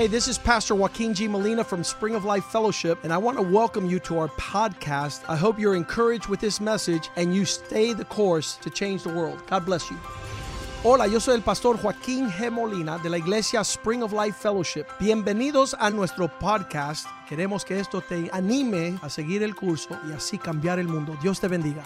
Hey, this is Pastor Joaquin G. Molina from Spring of Life Fellowship, and I want to welcome you to our podcast. I hope you're encouraged with this message and you stay the course to change the world. God bless you. Hola, yo soy el pastor Joaquín G. Molina de la iglesia Spring of Life Fellowship. Bienvenidos a nuestro podcast. Queremos que esto te anime a seguir el curso y así cambiar el mundo. Dios te bendiga.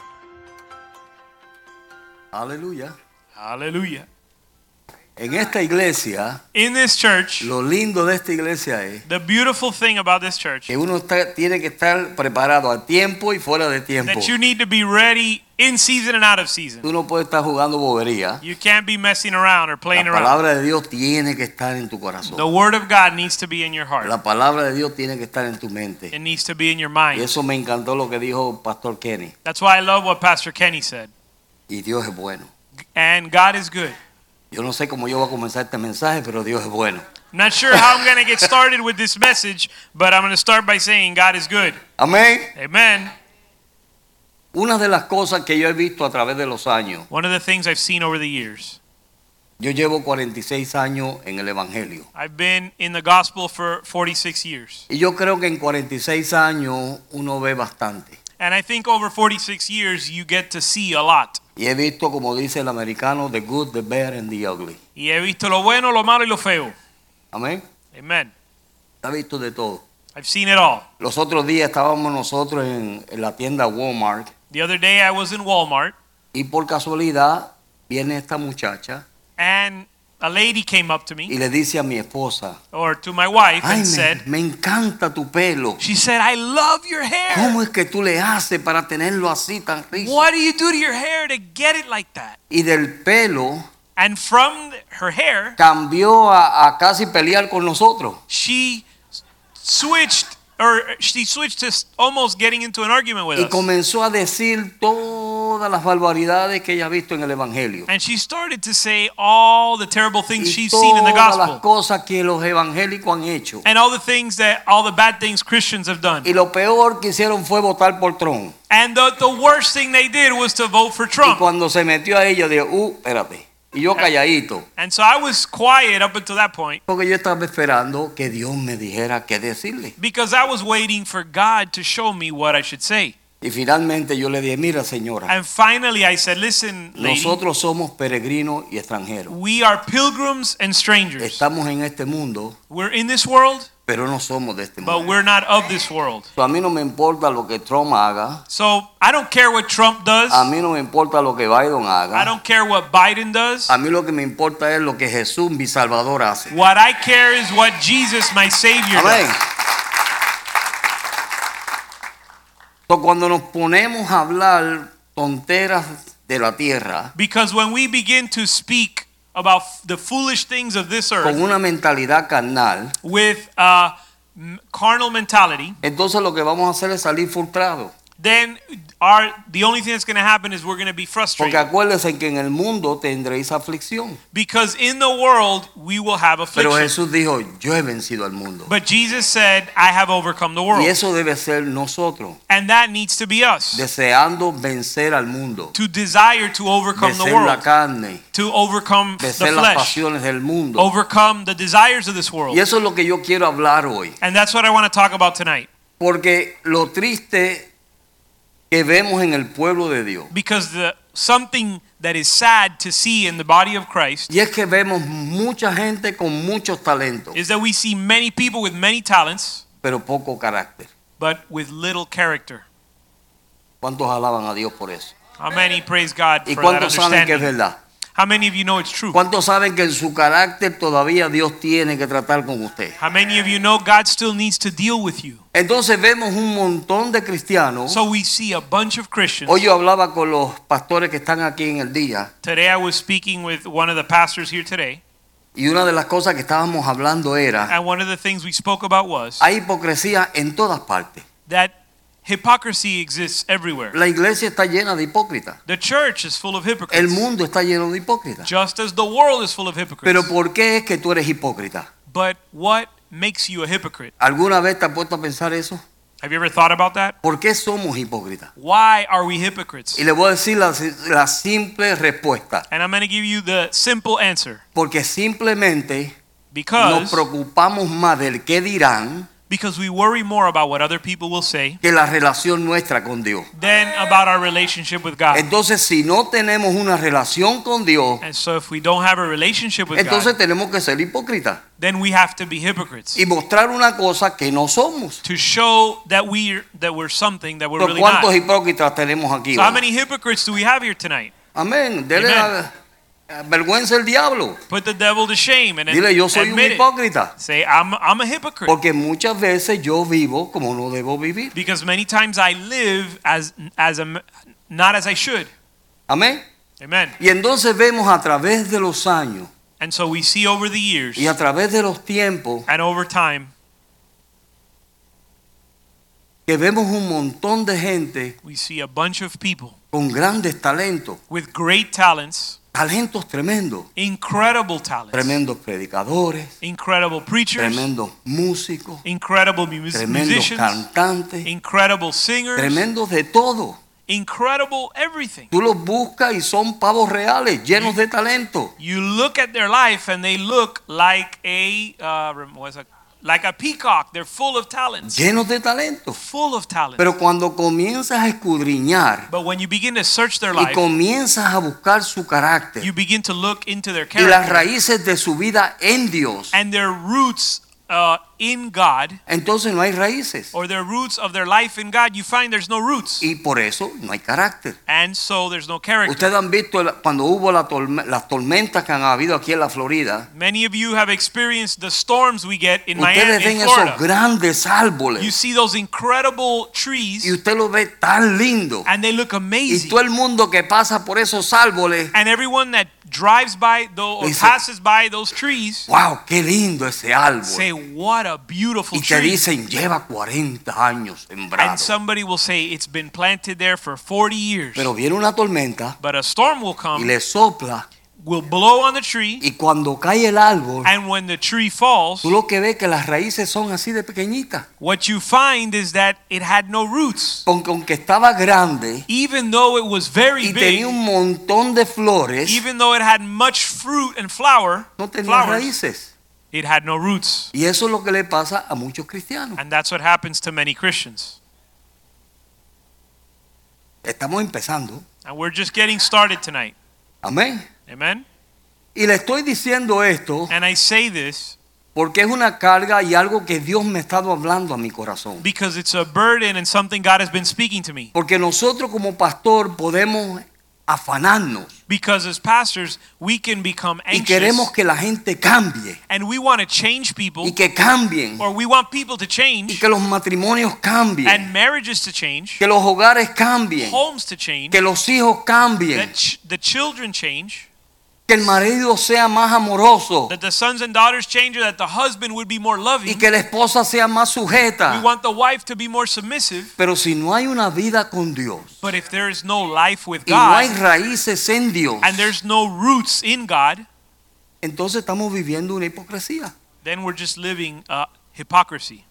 Aleluya. Hallelujah. En esta iglesia, In this church, lo lindo de esta iglesia es the beautiful thing about this church que uno tiene que estar preparado a tiempo y fuera de tiempo. that you need to be ready in season and out of season. Tú no puedes estar jugando bobería. You can't be messing around or La playing around. palabra de Dios tiene que estar en tu corazón. The word of God needs to be in your heart. La palabra de Dios tiene que estar en tu mente. It needs to be in your Y mind. eso me encantó lo que dijo Pastor Kenny. That's why I love what Pastor Kenny said. Y Dios es bueno. And God is good. Yo no sé cómo yo voy a comenzar este mensaje, pero Dios es bueno. I'm not sure how I'm going to get started with this message, but I'm going to start by saying God is good. Amén. Amen. Una de las cosas que yo he visto a través de los años, One of the things I've seen over the years, yo llevo 46 años en el Evangelio. I've been in the gospel for 46 years. Y yo creo que en 46 años uno ve bastante. And I think over 46 years you get to see a lot. Y he visto, como dice el americano, the good, the bad and the ugly. Y he visto lo bueno, lo malo y lo feo. Amén. Amen. He visto de todo. I've seen it all. Los otros días estábamos nosotros en la tienda Walmart The other day I was in Walmart y por casualidad viene esta muchacha and a lady came up to y me le dice a mi esposa, or to my wife ay, and said, me encanta tu pelo. she said, I love your hair. ¿Cómo es que tú le haces para tenerlo así tan rizo? What do you do to your hair to get it like that? Y del pelo And from her hair, cambió a casi pelear con nosotros. she switched to almost getting into an argument with Y us. comenzó a decir todas las barbaridades que ella ha visto en el Evangelio. And she started to say all the terrible things Y she's seen in the todas las gospel. cosas que los evangélicos han hecho. And all the bad things Christians have done. Y lo peor que hicieron fue votar por Trump. And the worst thing they did was to vote for Y Trump. cuando se metió a ella, dijo, espérate. Y yo calladito. And so I was quiet up until that point Porque yo estaba esperando que Dios me dijera qué decirle. because I was waiting for God to show me what I should say. Y finalmente yo le dije, mira señora, And finally I said, listen, lady, nosotros somos peregrinos y extranjeros. we are pilgrims and strangers. Estamos en este mundo, We're in this world, pero no somos de este but mundo. we're not of this world. A mí no me importa lo que Trump haga. So I don't care what Trump does. A mí no me importa lo que Biden I haga. don't care what Biden does. A mí lo que me importa es lo que Jesús, mi Salvador, hace. What I care is what Jesus, my Savior, Amén. does. So, cuando nos ponemos a hablar tonteras de la tierra Because when we begin to speak about the foolish things of this con earth una mentalidad carnal, with carnal mentality, entonces lo que vamos a hacer es salir frustrados. then the only thing that's going to happen is we're going to be Porque frustrated. acuérdense que en el mundo tendréis aflicción. Because in the world we will have Pero affliction. Jesús dijo, yo he vencido al mundo. But Jesus said, I have overcome the Y world. eso debe ser nosotros, And that needs to be us. deseando vencer al mundo, To desire to overcome the vencer la world. carne, To overcome the vencer las flesh. pasiones del mundo. Overcome the desires of this world. Y eso es lo que yo quiero hablar hoy. And that's what I want to talk about tonight. Porque lo triste que vemos en el pueblo de Dios, Because something that is sad to see in the body of Christ y es que vemos mucha gente con muchos talentos, is that we see many people with many talents, pero poco carácter. but with little character. ¿Cuántos alaban a Dios por eso? How many praise God ¿Y for that cuántos saben que es understanding? verdad? How many of you know it's true? ¿Cuántos saben que en su carácter todavía Dios tiene que tratar con usted? How many of you know God still needs to deal with you? Entonces vemos un montón de cristianos. So we see a bunch of Christians. Hoy yo hablaba con los pastores que están aquí en el día, Today I was speaking with one of the pastors here today, y una de las cosas que estábamos hablando era, and one of the things we spoke about was hay hipocresía en todas partes. that hypocrisy exists everywhere. La iglesia está llena de hipócritas. The church is full of El hypocrites, mundo está lleno de hipócritas. just as the world is full of Pero hypocrites. ¿por qué es que tú eres hipócrita? But what makes you a hypocrite? ¿Alguna vez te has puesto a pensar eso? Have you ever thought about that? ¿Por qué somos hipócritas? Why are we hypocrites? Y le voy a decir la simple respuesta. And I'm going to give you the simple answer. Porque simplemente Because preocupamos más del qué dirán we worry more about what other people will say que la relación nuestra con Dios. than about our relationship with God. Entonces, si no tenemos una relación con Dios, And so if we don't have a relationship with entonces God, tenemos que ser hipócritas then we have to be hypocrites y mostrar una cosa que no somos. to show that we're something that we're Pero really ¿cuántos not. hipócritas tenemos aquí? So how hoy? many hypocrites do we have here tonight? Amén. Dele Amen. vergüenza al diablo. Put the devil to shame and Dile, yo soy un admit it. hipócrita. Say, I'm a hypocrite. Porque muchas veces yo vivo como no debo vivir. Because many times I live not as I should. Amén. Amen. Y entonces vemos a través de los años And so we see over the years y a través de los tiempos and over time, que vemos un montón de gente we see a bunch of people con grandes talentos, with great talents, talentos tremendos, incredible talents, tremendos predicadores, incredible preachers, tremendos músicos, incredible tremendos musicians, cantantes, incredible singers, tremendos de todo. incredible everything. Tú los buscas y son pavos reales, llenos de talento. You look at their life and they look like like a peacock. They're full of talents. Llenos de talento. Full of talents. Pero cuando comienzas a escudriñar But when you begin to search their y life, comienzas a buscar su carácter you begin to look into their y las character raíces de su vida en Dios, and their roots in God, entonces no hay raíces. or their roots of their life in God, you find there's no roots. Y por eso no hay carácter. And so there's no character. Ustedes han visto cuando hubo las tormentas que han habido aquí en la Florida. Many of you have experienced the storms we get in Ustedes Miami, ven in esos Florida. grandes You árboles see those incredible trees y usted los ve tan lindo. and they look Y amazing. todo el mundo que pasa por esos árboles, And everyone that drives by or Dice, passes by those trees wow, qué lindo ese say, árbol. what a beautiful Y te tree. dicen, lleva 40 años And sembrado. somebody will say, it's been planted there for 40 years. Pero viene una tormenta But a storm will y come, le sopla. will blow on the tree, Y cuando cae el árbol, and when the tree falls, tú lo que ves que las raíces son así de pequeñitas. what you find is that it had no roots. Aunque estaba grande Even though it was very y big, tenía un montón de flores, even though it had much fruit and flowers, no tenía flowers, raíces. it had no roots. Y eso es lo que le pasa a muchos cristianos. And that's what happens to many Christians. Estamos empezando. And we're just getting started tonight. Amén. Amen? Y le estoy diciendo esto And I say this porque es una carga y algo que Dios me ha estado hablando a mi corazón. because it's a burden and something God has been speaking to me. Porque nosotros como pastor podemos afanarnos Because as pastors, we can become y anxious queremos que la gente cambie and we want to change people, y que cambien or we want people to y change que los matrimonios cambien, and marriages to change, que los hogares cambien, homes to change, que los hijos cambien, that the children change, que el marido sea más amoroso that the sons and daughters change, or that the husband would be more y loving. que la esposa sea más We sujeta. want the wife to be more submissive. Pero si no hay una vida con Dios But if there is no life with y no hay God raíces en Dios, and there's no roots in God, entonces estamos viviendo una hipocresía. then we're just living hypocrisy.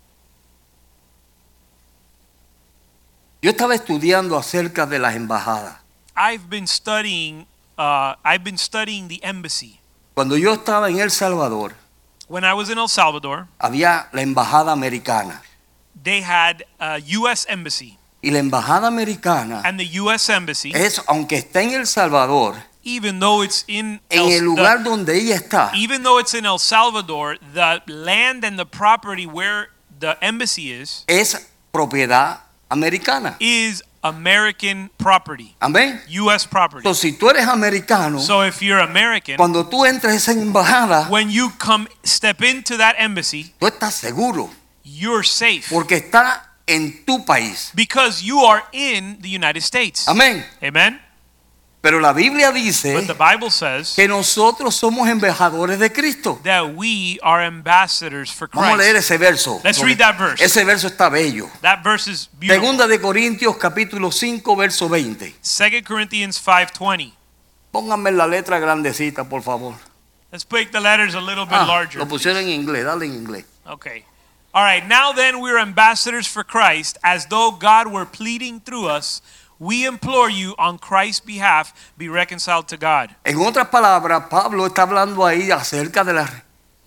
Yo estaba estudiando acerca de las embajadas. I've been studying the embassy. Cuando yo estaba en El Salvador, When I was in El Salvador, había la embajada americana. they had a U.S. embassy. Y la embajada americana And the U.S. embassy, es, aunque está en El Salvador, even though it's in en el lugar donde ella está, even though it's in El Salvador, the land and the property where the embassy es propiedad americana. is American property, Amén. U.S. property. Entonces, si tú eres americano, So if you're American, cuando tú entras a esa embajada, when you step into that embassy, tú estás seguro, you're safe porque está en tu país. because you are in the United States. Amén. Amen? Pero la Biblia dice But the Bible says que nosotros somos embajadores de Cristo. that we are ambassadors for Vamos a leer Christ. ese verso. Let's read that verse. Ese verso está bello. That verse is beautiful. Segunda de Corintios capítulo 5 verso 20. 2 Corinthians 5:20. Pónganme la letra grandecita, por favor. Let's make the letters a little bit larger. Lo pusieron en inglés, dale en inglés. Okay. All right. Now then, we're ambassadors for Christ, as though God were pleading through us. We implore you on Christ's behalf, be reconciled to God. En otras palabras, Pablo está hablando ahí acerca de la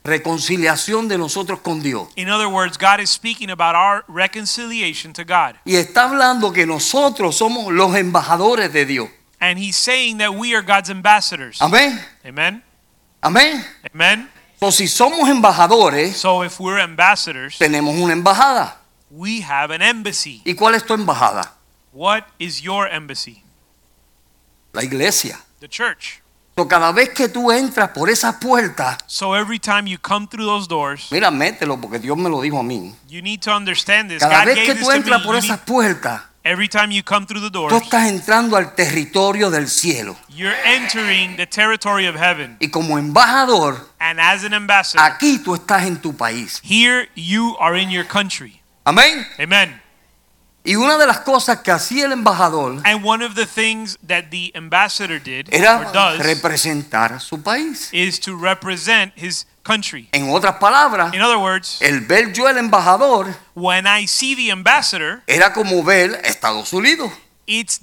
reconciliación de nosotros con Dios. In other words, God is speaking about our reconciliation to God. Y está hablando que nosotros somos los embajadores de Dios. And he's saying that we are God's ambassadors. Amén. Amen. Amén. Amen. Entonces, si somos embajadores, So if we're ambassadors, tenemos una embajada. we have an embassy. ¿Y cuál es tu embajada? What is your embassy? La iglesia. The church. So, cada vez que tú entras por esas puertas, So every time you come through those doors, mira, mételo porque Dios me lo dijo a mí. you need to understand this. Cada God vez gave que this tú to entras me. por You esas need- puertas, Every time you come through the tú doors, estás entrando al territorio del cielo. you're entering the territory of heaven. Y como embajador, And as an ambassador, aquí tú estás en tu país. here you are in your country. Amén. Amen. Y una de las cosas que hacía el embajador And one of the things that the ambassador did era or does representar a su país. is to represent his country. En otras palabras, In other words, el ver yo el embajador when I see the ambassador, era como ver Estados Unidos. it's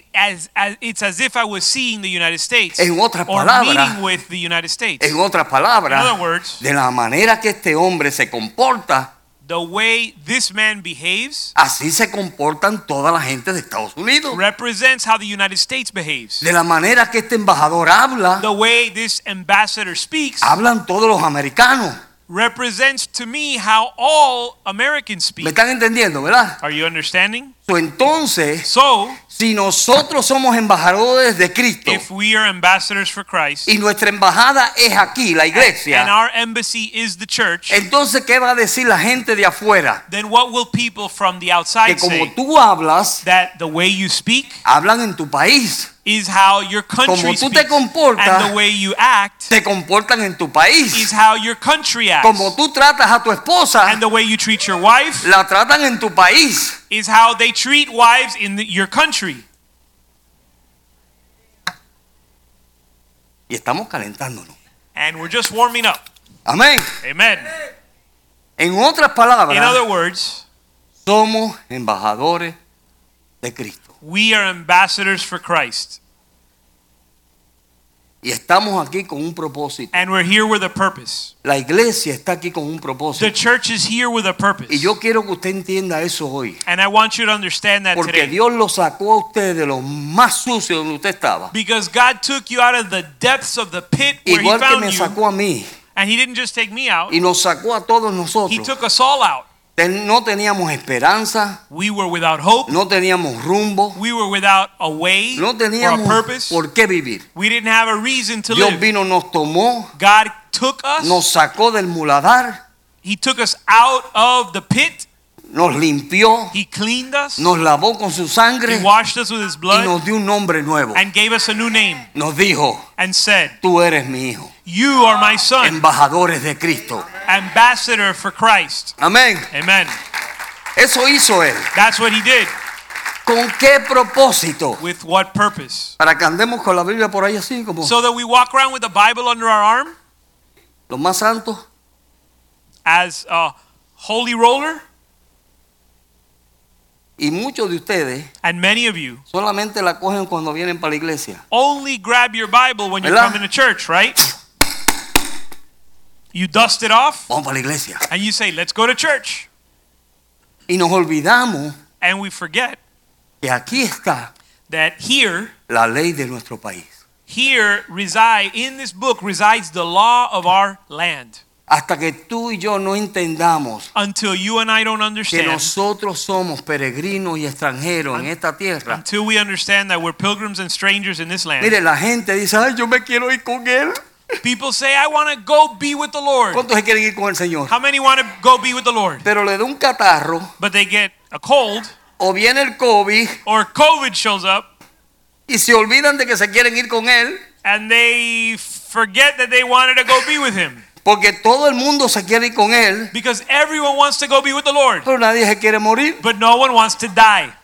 as if I was seeing the United States En otras or palabras, meeting with the United States. En otras In palabras, other words, de la manera que este hombre se comporta, the way this man behaves así se comportan toda la gente de Estados Unidos. represents how the United States behaves. De la manera que este embajador habla, The way this ambassador speaks hablan todos los americanos. represents to me how all Americans ¿Me speak. están entendiendo, verdad? Are you understanding? Entonces, So, si nosotros somos embajadores de Cristo if we are ambassadors for Christ y nuestra embajada es aquí, la and iglesia, our embassy is the church, entonces ¿qué va a decir la gente de afuera? then what will people from the Que outside como say? tú hablas, That the way you speak hablan en tu país. is how your country Como tú speaks, te comportas, and the way you act se comportan en tu is país. how your country acts, Como tú tratas a tu esposa, and the way you treat your wife la tratan en tu país. is how they treat wives in your country. Y estamos calentándonos. And we're just warming up. Amén. Amen. En otras In palabras, other words, somos embajadores de Cristo. we are ambassadors for Christ, Y estamos aquí con un propósito. and we're here with a purpose. La iglesia está aquí con un The propósito. church is here with a purpose. Y yo quiero que usted entienda eso hoy. And I want you to understand that Porque today. Dios lo sacó a usted de lo más sucio donde usted estaba. Because God took you out of the depths of the pit where Igual He que found me you. sacó a mí. And He didn't just take me out, Y nos sacó a todos He nosotros. took us all out. No teníamos esperanza. We were without hope. No teníamos rumbo. We were without a way No or a teníamos purpose. por qué vivir. We didn't have a reason to Dios live. vino, nos tomó, God took us. nos sacó del muladar, He took us out of the pit. nos limpió, He cleaned us. nos lavó con su He sangre washed us with His y blood nos dio un nombre nuevo. and gave us a new name Nos dijo, and said, tú eres mi hijo. you are my son, Embajadores de Cristo. ambassador for Christ. Amén. Amen. Eso hizo él. That's what He did. ¿Con qué propósito? With what purpose? Para que andemos con la Biblia por ahí así como So that we walk around with the Bible under our arm los más santos. as a holy roller. Y muchos de ustedes And many of you solamente la cogen cuando vienen para la iglesia. only grab your Bible when you're ¿Verdad? coming to church, right? You dust it off Vamos para la iglesia. and you say, let's go to church. Y nos olvidamos And we forget que aquí está that la ley de nuestro país. in this book resides the law of our land. Hasta que tú y yo no entendamos Until you and I don't que understand, nosotros somos peregrinos y extranjeros en esta tierra. until we understand that we're pilgrims and strangers in this land. Mire, la gente dice, ay, yo me quiero ir con él. People say, I want to go be with the Lord. ¿Cuántos se quieren ir con el Señor? How many want to go be with the Lord? Pero le da un catarro, But they get a cold o viene el COVID, or COVID shows up y se olvidan de que se quieren ir con él, and they forget that they wanted to go be with Him. porque todo el mundo se quiere ir con él, Because everyone wants to go be with the Lord, pero nadie se quiere morir. but no one wants to die.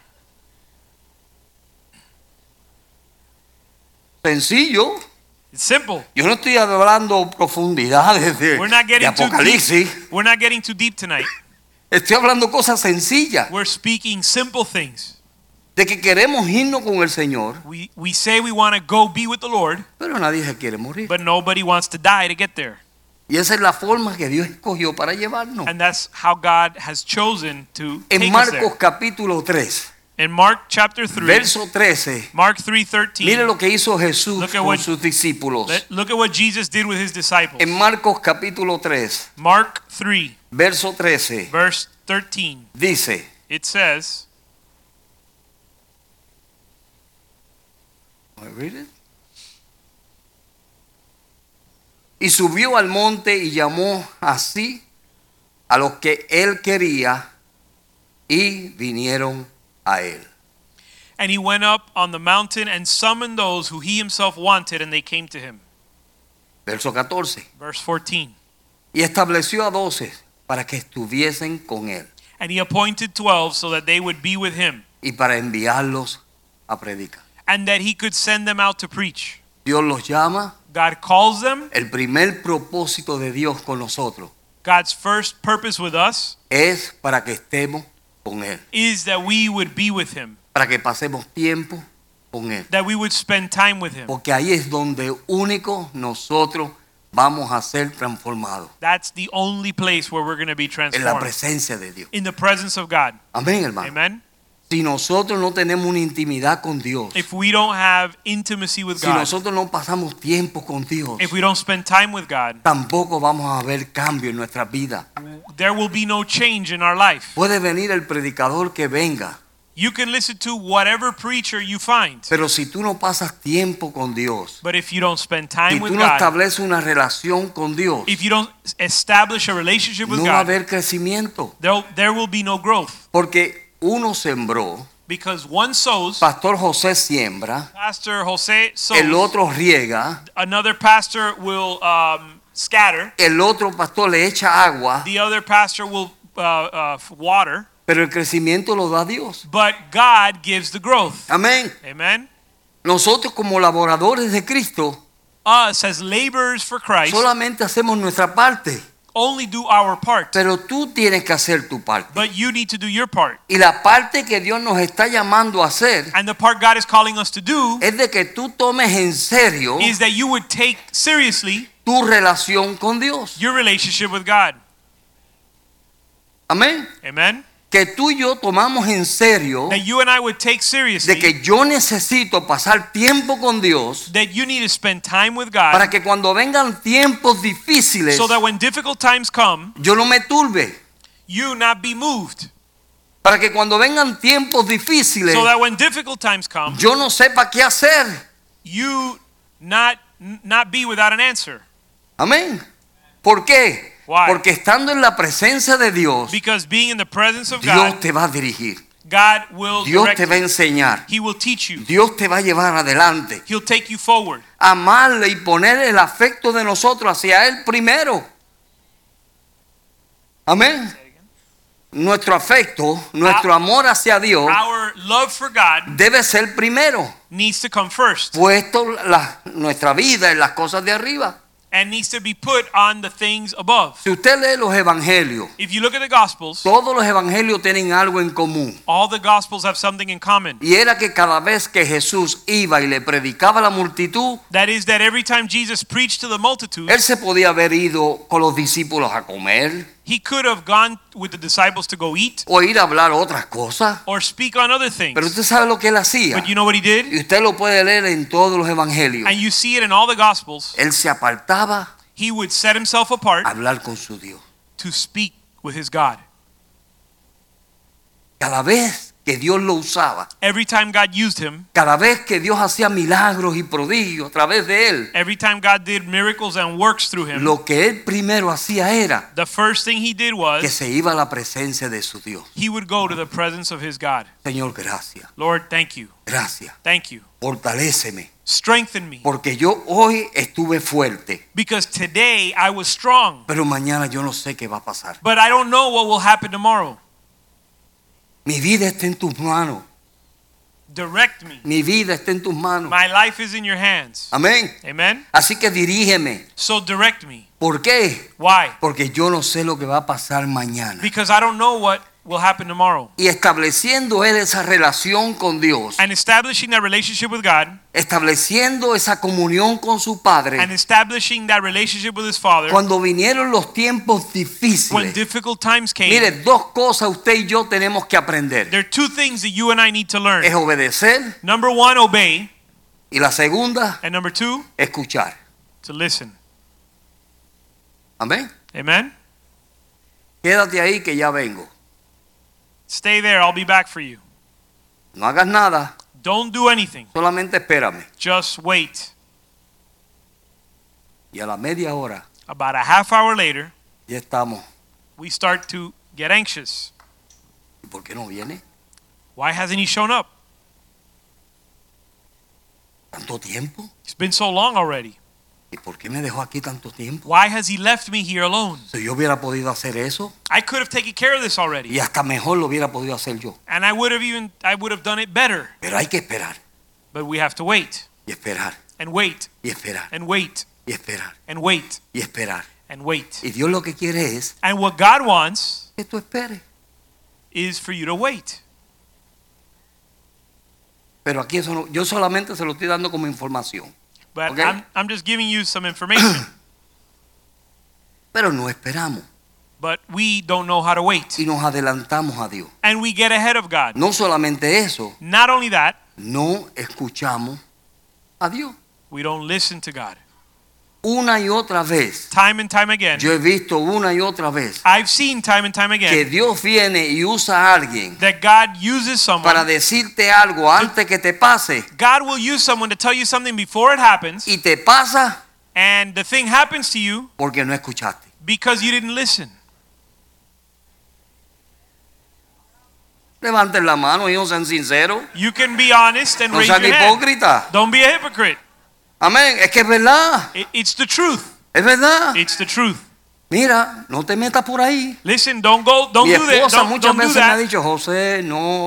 Sencillo. It's simple. Yo no estoy hablando profundidades de We're not getting too Apocalipsis. deep. We're not getting too deep tonight. Estoy hablando cosas sencillas. We're speaking simple things. De que queremos irnos con el Señor, We say we want to go be with the Lord, pero nadie se quiere morir. but nobody wants to die to get there. Y esa es la forma que Dios escogió para llevarnos. And that's how God has chosen to En take us Marcos there. capítulo 3, In Mark chapter 3, verso 13, Mark 3:13. mire lo que hizo Jesús Look at con what- sus discípulos. Look at what Jesus did with his disciples. En Marcos capítulo 3, Mark 3, verso 13, verse 13. dice, It says, I read it? Y subió al monte y llamó así a los que él quería y vinieron a él. and he went up on the mountain and summoned those who he himself wanted, and they came to him. Verso 14. Verse 14. Y estableció a 12 para que estuviesen con él And he appointed 12 so that they would be with him, y para enviarlos a predicar. and that he could send them out to preach. Dios los llama. God calls them. El primer propósito de Dios con nosotros God's first purpose with us es para que estemos con él, is that we would be with him, para que pasemos tiempo con él. that we would spend time with him. Porque ahí es donde único nosotros vamos a ser transformados, That's the only place where we're going to be en la transformed, presencia de Dios. in the presence of God. Amén, hermano. Amen. Si nosotros no tenemos una intimidad con Dios, If we don't have intimacy with si God, nosotros no pasamos tiempo con Dios, if we don't spend time with God, tampoco vamos a ver cambio en nuestra vida. there will be no change in our life. Puede venir el predicador que venga, You can listen to whatever preacher you find, pero si tú no pasas tiempo con Dios, but if you don't spend si time tú with no God, estableces una relación con Dios, if you don't establish a relationship with no va a God, haber crecimiento. there will be no growth, Porque uno sembró, because one sows, Pastor José siembra, Pastor Jose sows, el otro riega, another pastor will scatter, el otro pastor le echa agua, the other pastor will water, pero el crecimiento lo da Dios. but God gives the growth. Amén. Amen. Nosotros como laboradores de Cristo Us as laborers for Christ solamente hacemos nuestra parte, only do our part, pero tú tienes que hacer tu parte. but you need to do your part. Y la parte que Dios nos está llamando a hacer And the part God is calling us to do es de que tú tomes en serio is that you would take seriously tu relación con Dios. your relationship with God. Amén. Amen. Que tú y yo tomamos en serio That you and I would take de seriously que yo necesito pasar tiempo con Dios that you need to spend time with God, para que cuando vengan tiempos difíciles so that when difficult times come, yo no me turbe. you not be moved. Para que cuando vengan tiempos difíciles So that when difficult times come, yo no sepa qué hacer. you not be without an answer. Amén. ¿Por qué? Why? Porque estando en la presencia de Dios, Because being in the presence of Dios God, te va a dirigir. God will Dios direct te va a you. enseñar. He will teach you. Dios te va a llevar adelante. He'll take you forward. Amarle y poner el afecto de nosotros hacia Él primero. Amén. Nuestro afecto, nuestro amor hacia Dios Our love for God debe ser primero. needs to come first Puesto nuestra vida en las cosas de arriba. and needs to be put on the things above. Si usted lee los evangelios, If you look at the Gospels, todos los evangelios tienen algo en común. all the Gospels have something in common. Y era que cada vez que Jesús iba y le predicaba a la multitud, That is that every time Jesus preached to the multitude, Él se podía haber ido con los discípulos a comer he could have gone with the disciples to go eat o ir a hablar otras cosas. or speak on other things. Pero usted sabe lo que Él hacía. But you know what he did? Y usted lo puede leer en todos los evangelios. And you see it in all the Gospels. Él se apartaba He would set himself apart a hablar con su Dios. to speak with his God. Cada vez que Dios lo usaba, Every time God used him, cada vez que Dios hacía milagros y prodigios a través de Él, every time God did miracles and works through him, lo que Él primero hacía era the first thing he did que was se iba a la presencia de su Dios. he would go to the presence of his God. Señor, gracias, Lord, thank you. gracias. Thank you. Fortaléceme, Strengthen me. porque yo hoy estuve fuerte, Because today I was strong, pero mañana yo no sé qué va a pasar. but I don't know what will happen tomorrow. Mi vida está en tus manos. Direct me. Mi vida está en tus manos. My life is in your hands. Amén. Amen. Así que dirígeme. So direct me. ¿Por qué? Why? Porque yo no sé lo que va a pasar mañana. Because I don't know what will happen tomorrow. Y estableciendo él esa relación con Dios, And establishing that relationship with God, estableciendo esa comunión con su Padre, and establishing that relationship with his Father, cuando vinieron los tiempos when difíciles, difficult times came, mire, dos cosas usted y yo tenemos que aprender. there are two things that you and I need to learn. Es obedecer Number one, obey. y la segunda, And number two, escuchar. to listen. Amén. Amen? Quédate ahí que ya vengo. Stay there. I'll be back for you. No hagas nada, Don't do anything. solamente espérame. Just wait. Y a la media hora About a half hour later, ya estamos. we start to get anxious. ¿Y por qué no viene? Why hasn't he shown up? ¿Tanto tiempo? It's been so long already. ¿Y por qué me dejó aquí tanto tiempo? Why has he left me here alone? Si yo hubiera podido hacer eso, I could have taken care of this already. y hasta mejor lo hubiera podido hacer yo. And I would have done it better. Pero hay que esperar, But we have to wait y esperar, and wait y esperar, and wait y esperar, and wait y esperar. and wait. Y Dios lo que quiere es And what God wants que tú esperes. is for you to wait. Pero aquí eso no, yo solamente se lo estoy dando como información. But Okay. I'm just giving you some information. Pero no esperamos But we don't know how to wait. y nos adelantamos a Dios. And we get ahead of God. No solamente eso, Not only that, no escuchamos a Dios. we don't listen to God. Una y otra vez, Time and time again, yo he visto una y otra vez I've seen time and time que again Dios viene y usa a alguien that God uses para someone. decirte algo antes que te pase God will use someone to tell you something before it happens, y te pasa and the thing happens to you porque no escuchaste. because you didn't listen. Levanten la mano y no sean sinceros, You can be honest and no raise sean your hand. hipócritas. Don't be a hypocrite. Amén, es que es verdad, It's the truth. es verdad. It's the truth. Mira, no te metas por ahí. Listen, don't do Mi that. esposa Don't muchas do veces me ha that. dicho, José,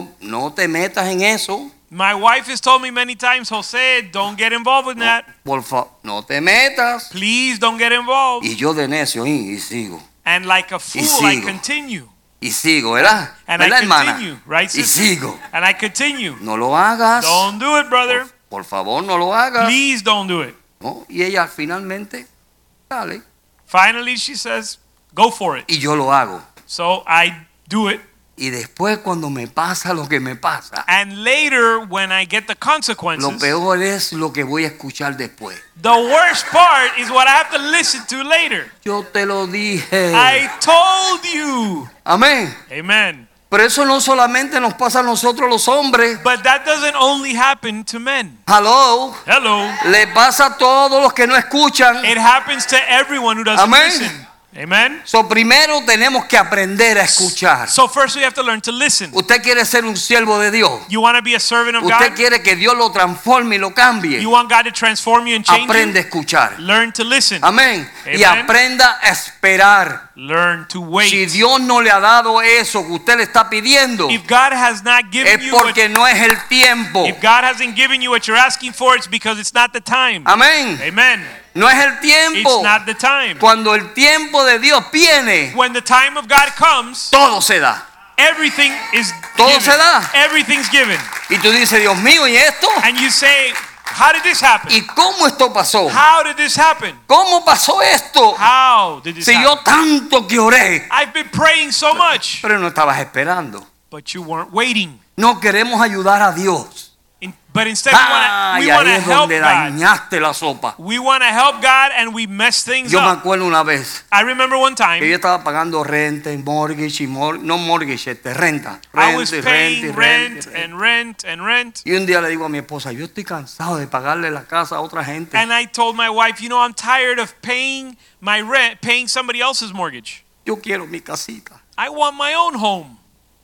no te metas en eso. My wife has told me many times, Jose, don't get involved with that. Por favor, no te metas. Please don't get involved. Y yo de necio y sigo. And like a fool, I sigo. continue. Y sigo, ¿verdad? And I ¿Verdad, hermana? continue, right, Y sister? sigo. And I continue. No lo hagas. Don't do it, brother. Por favor, no lo hagas. Please don't do it. ¿No? Y ella finalmente sale. Finally, she says, go for it. Y yo lo hago. So I do it. Y después cuando me pasa lo que me pasa, And later, when I get the lo consequences, peor es lo que voy a escuchar después. the worst part is what I have to listen to later. Yo te lo dije. I told you. Amén. Amen. Pero eso no solamente nos pasa a nosotros los hombres. But that doesn't only happen to men. Hello. Hello. Le pasa a todos los que no escuchan. It happens to everyone who doesn't Amen. listen. Amen. So, primero tenemos que aprender a escuchar. So first we have to learn to listen. Usted quiere ser un siervo de Dios. You want to be a servant of Usted God? quiere que Dios lo transforme y lo cambie. You want God to transform you and change Aprende a you? escuchar. Learn to listen. Amén. Y Amen. aprenda a esperar. Learn to Si wait. Dios no le ha dado eso que usted le está pidiendo, If God has not given es you what, porque no es el tiempo. if God hasn't given you what you're asking for, it's because it's not the time. Amén. Amen. No es el tiempo. It's not the time. Cuando el tiempo de Dios viene, When the time of God comes, todo se da. everything is Todo given. se da. Everything's given. Y tú dices, Dios mío, ¿y esto? And you say, how did this happen? ¿Y cómo esto pasó? How did this happen? ¿Cómo pasó esto? How did this Si happen? yo tanto que oré, I've been praying so much, pero no estabas esperando. but you weren't waiting. No queremos ayudar a Dios. But instead, Ay, we want ahí to es help donde God. dañaste la sopa. We want to help God, and we mess things Yo me up. acuerdo una vez I remember one que yo time estaba pagando renta y mortgage y no mortgage, renta. I was Renta y paying renta y rent renta. and rent and rent, Y un día le digo a mi esposa, yo estoy cansado de pagarle la casa a otra gente. and I told my wife, you know, I'm tired of paying my rent, paying somebody else's mortgage. Yo quiero mi casita. I want my own home.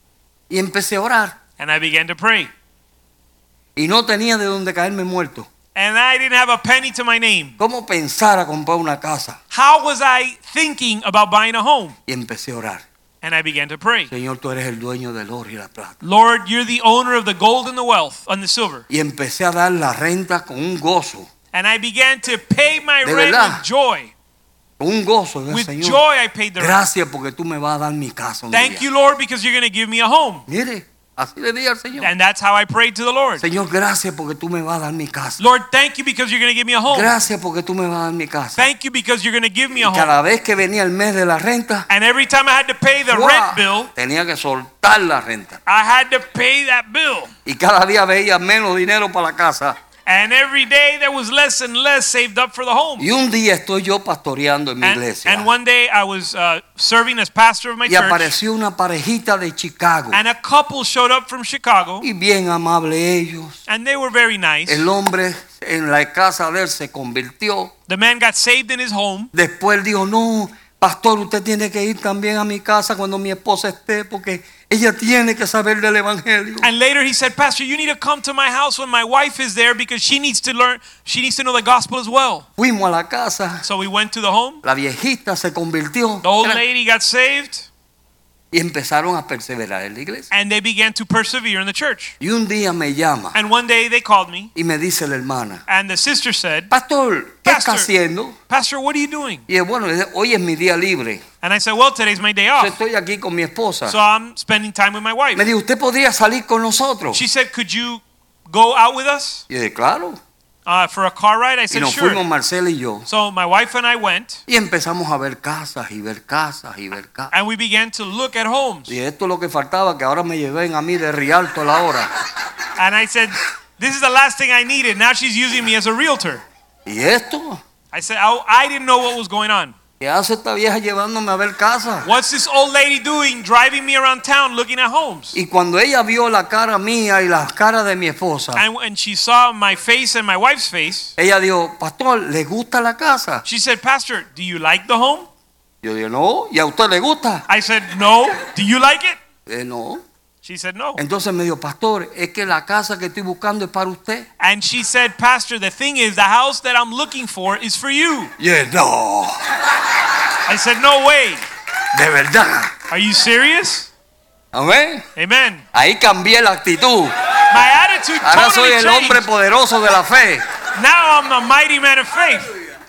Y empecé a orar. And I began to pray, Y no tenía de dónde caerme muerto. and I didn't have a penny to my name. ¿Cómo pensar a comprar una casa? How was I thinking about buying a home? Y empecé a orar. And I began to pray. Señor, tú eres el dueño del oro y la plata. Lord, you're the owner of the gold and the wealth and the silver. Y empecé a dar la renta con un gozo. And I began to pay my ¿De rent verdad? with joy. Con un gozo, With Señor, joy I paid the rent. gracias porque tú me vas a dar mi casa un Thank día. you, Lord, because you're going to give me a home. Mire, así le dije al Señor. And that's how I prayed to the Lord. Señor, gracias porque tú me vas a dar mi casa. Lord, thank you because you're going to give me a home. Gracias porque tú me vas a dar mi casa. Thank you because you're going to give me a home. Cada vez que venía el mes de la renta, And every time I had to pay the ¡guau!, rent bill, tenía que soltar la renta. I had to pay that bill. Y cada día veía menos dinero para la casa. And every day there was less and less saved up for the home. Y un día estoy yo pastoreando en mi iglesia. And one day I was serving as pastor of my Y church. apareció una parejita de Chicago. And a couple showed up from Chicago. Y bien amable ellos. And they were very nice. El hombre en la casa de él se convirtió. The man got saved in his home. Después dijo, no, pastor, usted tiene que ir también a mi casa cuando mi esposa esté porque ella tiene que saber del evangelio. And later he said, Pastor, you need to come to my house when my wife is there because she needs to learn, she needs to know the gospel as well. Fuimos a la casa. So we went to the home. La viejita se convirtió. The old lady got saved. Y empezaron a perseverar en la iglesia. And they began to persevere in the church. Y un día me llama And one day they called me. y me dice la hermana, And the sister said, pastor, ¿qué está Pastor. haciendo? Pastor, what are you doing? Y bueno, hoy es mi día libre. And I said, well, today's my day Yo off. estoy aquí con mi esposa. So I'm spending time with my wife. Me dijo, ¿usted podría salir con nosotros? She said, could you go out with us Y yo dije, claro. for a car ride? I Y said, nos sure. fuimos Marcela y yo. So my wife and I went. Y empezamos a ver casas y ver casas y ver casas. And we began to look at homes. Y esto es lo que faltaba, que ahora me lleven a mí de Rialto a la hora. And I said, this is the last thing I needed. Now she's using me as a realtor. ¿Y esto? I said, I didn't know what was going on. ¿Qué hace esta vieja llevándome a ver casas? What's this old lady doing driving me around town looking at homes? Y cuando ella vio la cara mía y la cara de mi esposa, And when she saw my face and my wife's face, ella dijo, pastor, ¿le gusta la casa? she said, Pastor, do you like the home? Yo dije, no. ¿Y a usted le gusta? I said, no. Do you like it? No. She said, no. Entonces me dijo, pastor, es que la casa que estoy buscando es para usted. And she said, Pastor, the thing is, the house that I'm looking for is for you. Y yo, no, I said, no way. de verdad. Are you serious? Amén. Amen. Ahí cambié la actitud. My attitude Ahora soy totally el hombre changed. poderoso de la fe. Now I'm a mighty man of faith.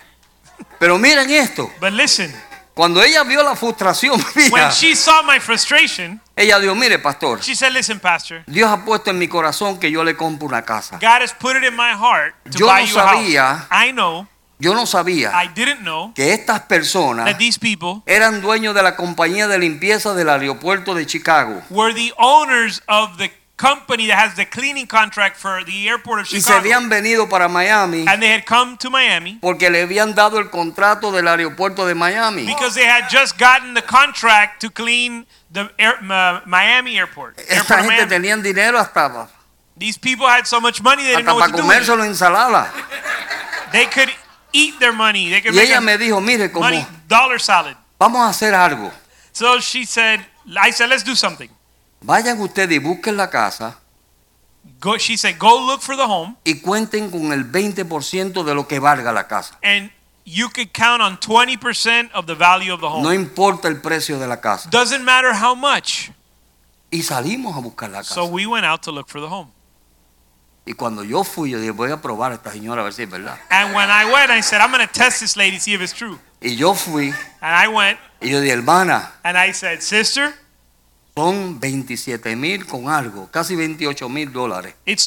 Pero miren esto. But listen, Cuando ella vio la frustración when mía, she saw my frustration, ella dijo, mire, pastor, she said, listen, Pastor, Dios ha puesto en mi corazón que yo le compro una casa. God has put it in my heart to Yo buy no you a sabía. house. I know, Yo no sabía I didn't know que estas personas that these people eran dueños de la compañía de limpieza del aeropuerto de Chicago. were the owners of the company that has the cleaning contract for the airport of Y se Chicago. habían venido para Miami And they had come to Miami porque le habían dado el contrato del aeropuerto de Miami. because they had just gotten the contract to clean the Miami airport. Esta Airport of gente Miami. tenían dinero hasta These people had so much money they didn't know para what to do with it. comérselo en ensalada. They could eat their money. They could Y make ella a me dijo, mire, como money dollar salad. vamos a hacer algo. So she said, I said, let's do something. Vayan ustedes y busquen la casa Go, she said, go look for the home y cuenten con el 20% de lo que valga la casa. and you could count on 20% of the value of the home. No importa el precio de la casa. Doesn't matter how much. Y salimos a buscar la casa. So we went out to look for the home. Y cuando yo fui, yo dije, voy a probar a esta señora a ver si es verdad. And when I went, I said, I'm going to test this lady, see if it's true. Y yo fui And I went y yo dije, hermana, and I said, sister, son 27,000 con algo, casi $28,000 it's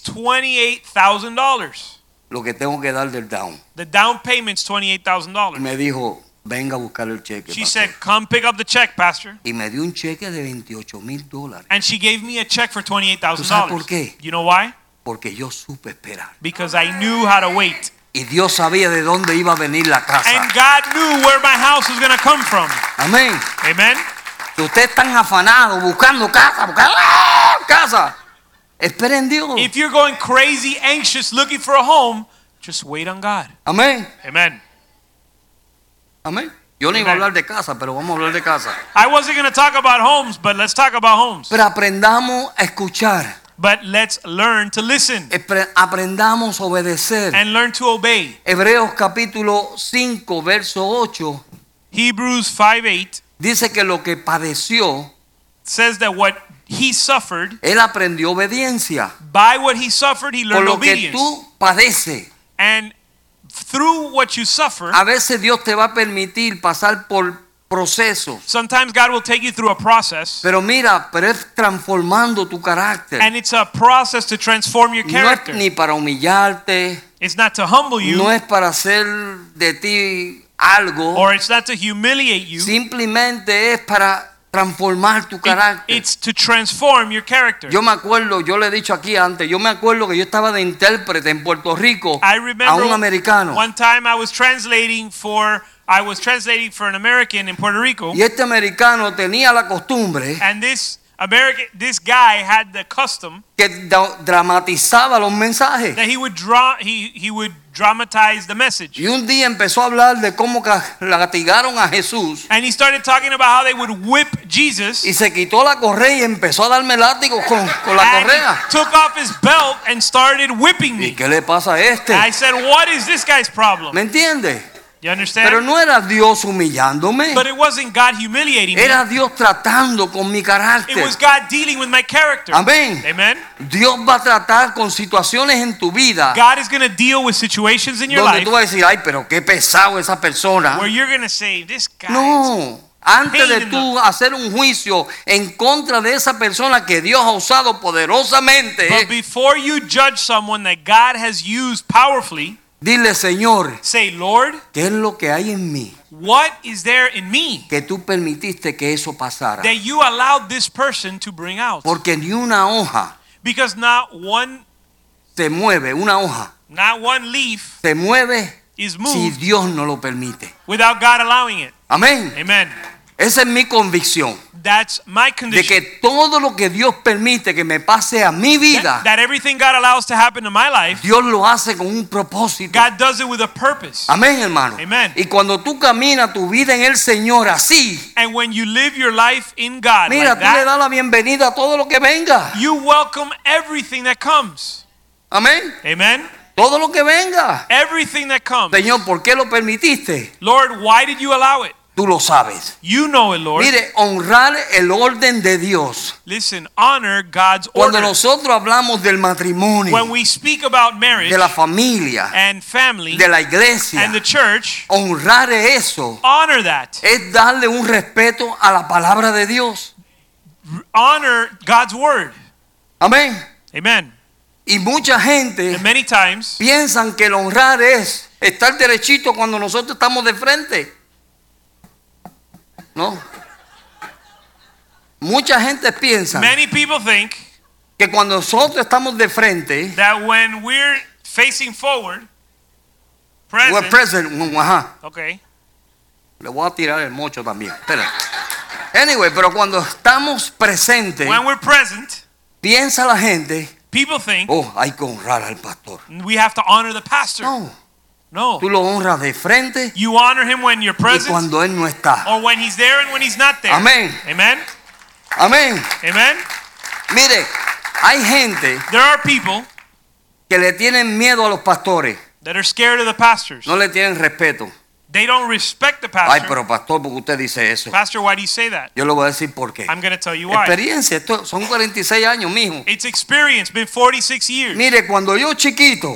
$28,000. lo que tengo que dar del down. The down payment's Y $28,000. me dijo, venga a buscar el cheque. She pastor. said, come pick up the check, Pastor. Y me dio un cheque de $28,000 And she gave me a check for ¿Tú sabes por $28,000. qué? You know why? porque yo supe esperar. Because I knew how to wait. Y Dios sabía de dónde iba a venir la casa. And God knew where my house was going to come from. Amén. Amen. Si ustedes están afanados buscando casa, casa, esperen en Dios. If you're going crazy, anxious, looking for a home, just wait on God. Amén. Amen. Amén. Yo no iba a hablar de casa, pero vamos a hablar de casa. I wasn't going to talk about homes, but let's talk about homes. Pero aprendamos a escuchar. But let's learn to listen Aprendamos a obedecer. and learn to obey. Hebreos capítulo 5, verso 8, Hebrews 5:8 dice que lo que padeció, says that what he suffered, él aprendió obediencia. by what he suffered, he Por learned lo que obedience. tú padeces, And through what you suffer, a veces Dios te va a permitir pasar por procesos. sometimes God will take you through a process, Pero mira, pero es transformando tu carácter. and it's a process to transform your No es character. ni para humillarte, It's not to humble you, no es para hacer de ti algo, or it's not to humiliate you. simplemente es para transformar tu carácter. It's to transform your character. Yo me acuerdo, yo le he dicho aquí antes, yo me acuerdo que yo estaba de intérprete en Puerto Rico I a un remember americano. one time I was translating for an American in Puerto Rico, Y este americano tenía la costumbre and this guy had the custom que dramatizaba los mensajes. that he would dramatize the message. Y un día empezó a hablar de cómo castigaron a Jesús. And he started talking about how they would whip Jesus. Y se quitó la correa y empezó a darme látigo con la And correa. he took off his belt and started whipping ¿Y me. qué le pasa a este? I said, what is this guy's problem? ¿Me entiende? You understand? Pero no era Dios humillándome. But it wasn't God humiliating me. Era Dios tratando con mi It carácter. was God dealing with my character. Amén. Amen. Dios va a tratar con situaciones en tu vida God is going to deal with situations in your donde life tú vas a decir, ay, pero qué pesado esa persona. where you're going to say, this guy. No. Antes de Pain in tú hacer un juicio en contra de esa persona que Dios ha usado poderosamente, But before you judge someone that God has used powerfully, dile, Señor, say, Lord, ¿qué es lo que hay en mí what is there in me que tú permitiste que eso pasara? that you allowed this person to bring out? Porque ni una hoja Because not one se mueve, una hoja leaf se mueve is si moved Dios no lo permite. without God allowing it. Amén. Amen. Esa es mi convicción. That's my De condition. que todo lo que Dios permite que me pase a mi vida, That everything God allows to happen in my life, Dios lo hace con un propósito. God does it with a purpose. Amén, hermano. Amen. Y cuando tú caminas tu vida en el Señor así, And when you live your life in God mira, like tú le that, das la bienvenida a todo lo que venga. you welcome everything that comes. Amén. Amen. Todo lo que venga. Everything that comes. Señor, ¿por qué lo permitiste? Lord, why did you allow it? Tú lo sabes. You know it, Lord. Mire, honrar el orden de Dios. Listen, honor God's Cuando order. nosotros hablamos del matrimonio, When we speak about marriage de la familia, and family de la iglesia, and the church, honrar eso honor that. es darle un respeto a la palabra de Dios. Honor God's word. Amén. Amen. Y mucha gente And many times, piensan que el honrar es estar derechito cuando nosotros estamos de frente. No. Mucha gente piensa many people think que cuando nosotros estamos de frente, that when we're facing forward, we're present, present. Ajá. okay, Le voy a tirar el mocho también. Espera. Anyway, pero cuando estamos presentes, when we're present, piensa la gente, people think oh, hay que honrar al pastor. we have to honor the pastor. No, No. tú lo honras de frente You honor him when you're y present cuando él no está. or when he's there and when he's not there. Amén. Amen. Amén. Amen. Mire, hay gente There are people que le tienen miedo a los pastores, that are scared of the pastors. no le tienen respeto. They don't respect the Ay, pastor. pero pastor, ¿por qué usted dice eso? Pastor, why do you say that? Yo le voy a decir por qué. I'm going to tell you why. Experiencia, esto son 46 años, mijo. It's experience, been 46 years. Mire, cuando yo chiquito,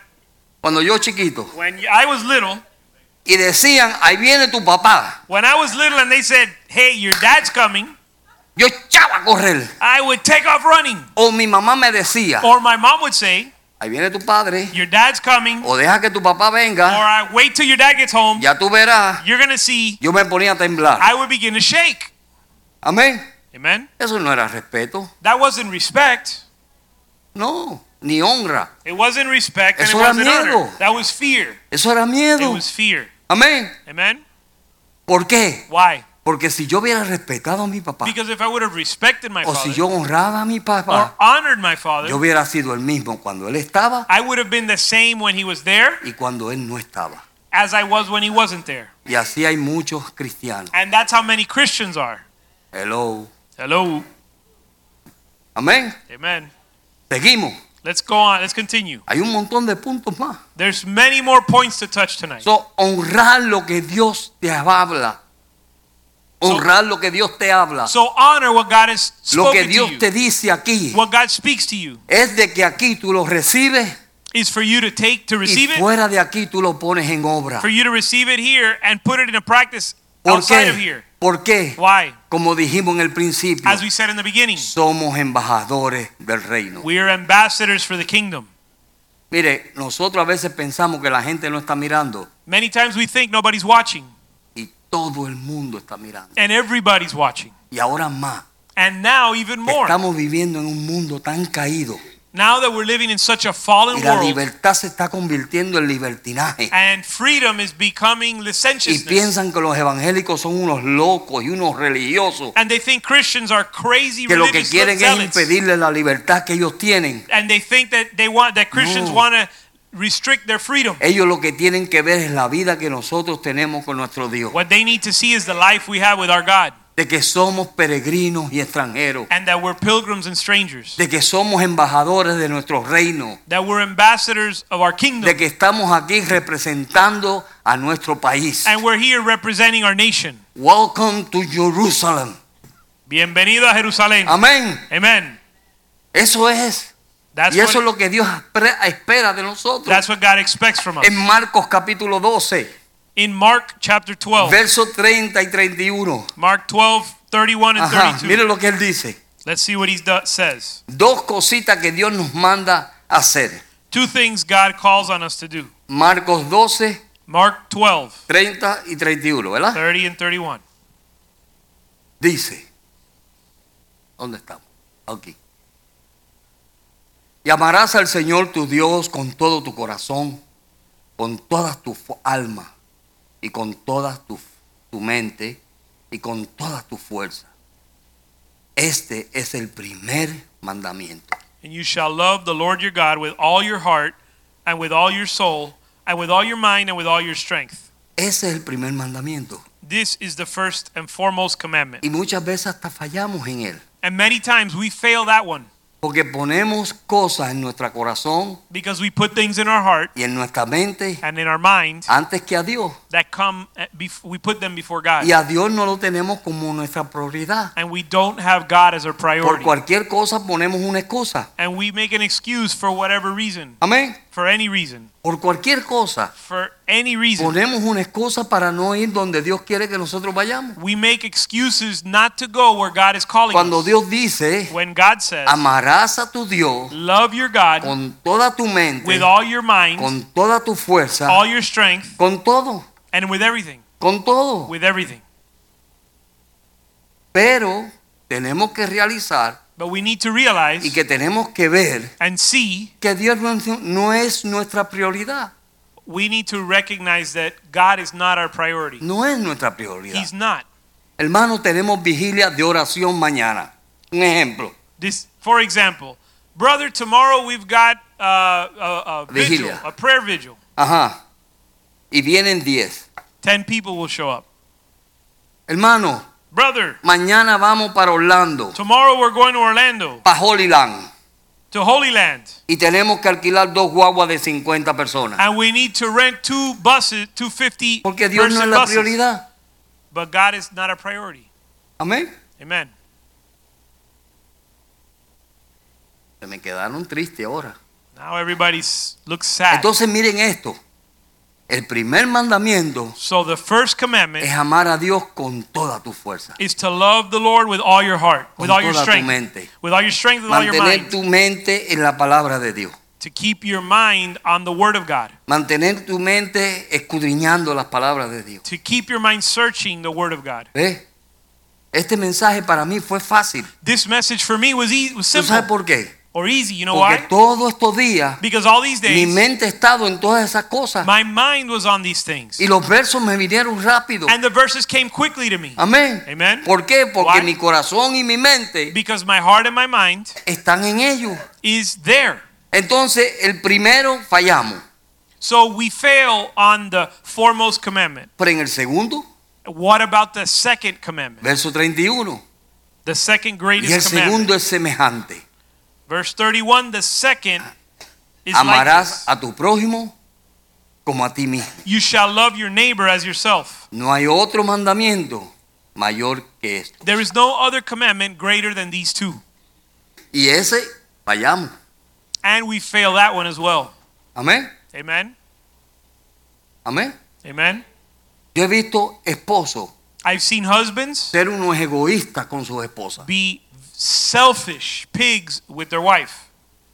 When I was little, y decían, ahí viene tu papá, when I was little and they said, hey, your dad's coming, yo echaba a correr. I would take off running. O mi mamá me decía, Or my mom would say, ahí viene tu padre, your dad's coming. o deja que tu papá Or venga, I wait till your dad gets home. ya tú verás. You're going to see. Yo me ponía a temblar. I would begin to shake. Amén. Amen. Eso no era respeto. That wasn't respect. No, ni honra. It wasn't respect and it Eso era wasn't honor. miedo. That was fear. Eso era It miedo. was fear. Amén. Amen. ¿Por qué? Why? Porque si yo hubiera respetado a mi papá, Because if I would have respected my o si father yo honraba a mi or papá, honored my father, yo hubiera sido el mismo cuando él estaba I would have been the same when he was there y cuando él no estaba. as I was when he wasn't there. Y así hay muchos cristianos. And that's how many Christians are. Hello. Hello. Amén. Amen. Seguimos. Let's go on. Let's continue. Hay un montón de puntos más. There's many more points to touch tonight. So, honrar lo que Dios te habla. Honrar lo que Dios te habla. So honor what God has Lo que spoken to Dios you. te dice aquí What God speaks to you. es de que aquí tú lo recibes is for you to receive y it, fuera de aquí tú lo pones en obra. for you to receive it here and put it in a practice ¿Por outside of qué? here. ¿Por qué? Why? Como dijimos en el principio, As we said in the beginning, somos embajadores del reino. we are ambassadors for the kingdom. Mire, nosotros a veces pensamos que la gente no está mirando Many times we think nobody's watching, y todo el mundo está mirando. and everybody's watching. Y ahora más, And now even que more. estamos viviendo en un mundo tan caído Now that we're living in such a fallen y la world, libertad se está convirtiendo en libertinaje. and freedom is becoming Y licentiousness. piensan que los evangélicos son unos locos y unos religiosos And they think Christians are crazy que lo que religious quieren es zealots. impedirle la libertad que ellos tienen. And they think that Christians No. want to restrict their freedom. Ellos lo que tienen que ver es la vida que nosotros tenemos con nuestro Dios. What they need to see is the life we have with our God, De que somos peregrinos y extranjeros. and that we're pilgrims and strangers, De que somos embajadores de nuestro reino. that we're ambassadors of our kingdom, De que estamos aquí representando a nuestro país. and we're here representing our nation. Welcome to Jerusalem. Bienvenido a Jerusalén. Amén. Amen. Eso es. That's Y eso es what, lo que Dios espera de nosotros. that's what God expects from us. En Marcos capítulo 12, In Mark chapter 12, versos 30 y 31. Mark 12, 31 and Ajá, 32. mire lo que él dice. Let's see what he says. Dos cositas que Dios nos manda hacer. Two things God calls on us to do. Marcos 12, Mark 12, 30 y 31, ¿verdad? 30 and 31. Dice, ¿dónde estamos? Aquí. Y amarás al Señor tu Dios con todo tu corazón, con toda tu alma y con toda tu mente y con toda tu fuerza. Este es el primer mandamiento. And you shall love the Lord your God with all your heart and with all your soul and with all your mind and with all your strength. Ese es el primer mandamiento. This is the first and foremost commandment. Y muchas veces hasta fallamos en él. And many times we fail that one Porque ponemos cosas en nuestro corazón because we put things in our heart y en nuestra mente and in our mind antes que a Dios. that we put them before God. Y a Dios no lo tenemos como nuestra prioridad. And we don't have God as our Por priority. cualquier cosa ponemos una excusa. And we make an excuse for whatever reason, Amén. for any reason, Por cualquier cosa for any reason. ponemos una excusa para no ir donde Dios quiere que nosotros vayamos. We make excuses not to go where God is calling Cuando us. Dios dice, When God says, amarás a tu Dios love your God con toda tu mente, with all your mind, con toda tu fuerza, all your strength, con todo, and with everything. con todo. With everything. Pero tenemos que realizar But we need to realize y que tenemos que ver and see, que Dios no es nuestra prioridad. we need to recognize that God is not our priority. No es nuestra prioridad. He's not. Hermanos, tenemos vigilia de oración mañana. Un ejemplo. For example, brother, tomorrow we've got a vigil, Vigilia. a prayer vigil. Ajá. Y vienen 10. 10 people will show up. Hermano, Brother, mañana vamos para Orlando, tomorrow we're going to Orlando, para Holy Land. to Holy Land, Y tenemos que alquilar 2 guaguas de 50 personas. and we need to rent 2 buses, 250 Porque Dios no es person la buses. prioridad. But God is not a priority. Amén. Amen. Se me quedaron tristes ahora. Now everybody looks sad. Entonces miren esto. El primer mandamiento So the first commandment es amar a Dios con toda tu fuerza. is to love the Lord with all your heart, with Con all your toda tu strength, mente. with all your strength, with all your Mantener mind. tu mente en la palabra de Dios. To keep your mind on the Word of God. Mantener tu mente escudriñando las palabras de Dios. To keep your mind searching the Word of God. ¿Ves? Este mensaje para mí fue fácil. This message for me was ¿Tú sabes simple por qué? or easy. You know Porque why? todos estos días Because all these mi days, mente ha estado en todas esas cosas. my mind was on these things. Y los versos me vinieron rápido. And the verses came quickly to me. Amén. Amen. ¿Por qué? Porque Why? mi corazón y mi mente Because my heart and my mind están en ellos. is there. Entonces, el primero fallamos. So we fail on the foremost commandment. Pero en el segundo, What about the second commandment? verso 31. The second Y el greatest commandment. segundo es semejante. Verse 31, the second is like Amarás this. a tu prójimo como a ti mismo. You shall love your neighbor as yourself. No hay otro mandamiento mayor que esto. There is no other commandment greater than these two. Y ese fallamos. And we fail that one as well. Amén. Amen. Amén. Amen. Yo he visto esposos I've seen husbands ser unos egoístas con sus esposas. be selfish pigs with their wife.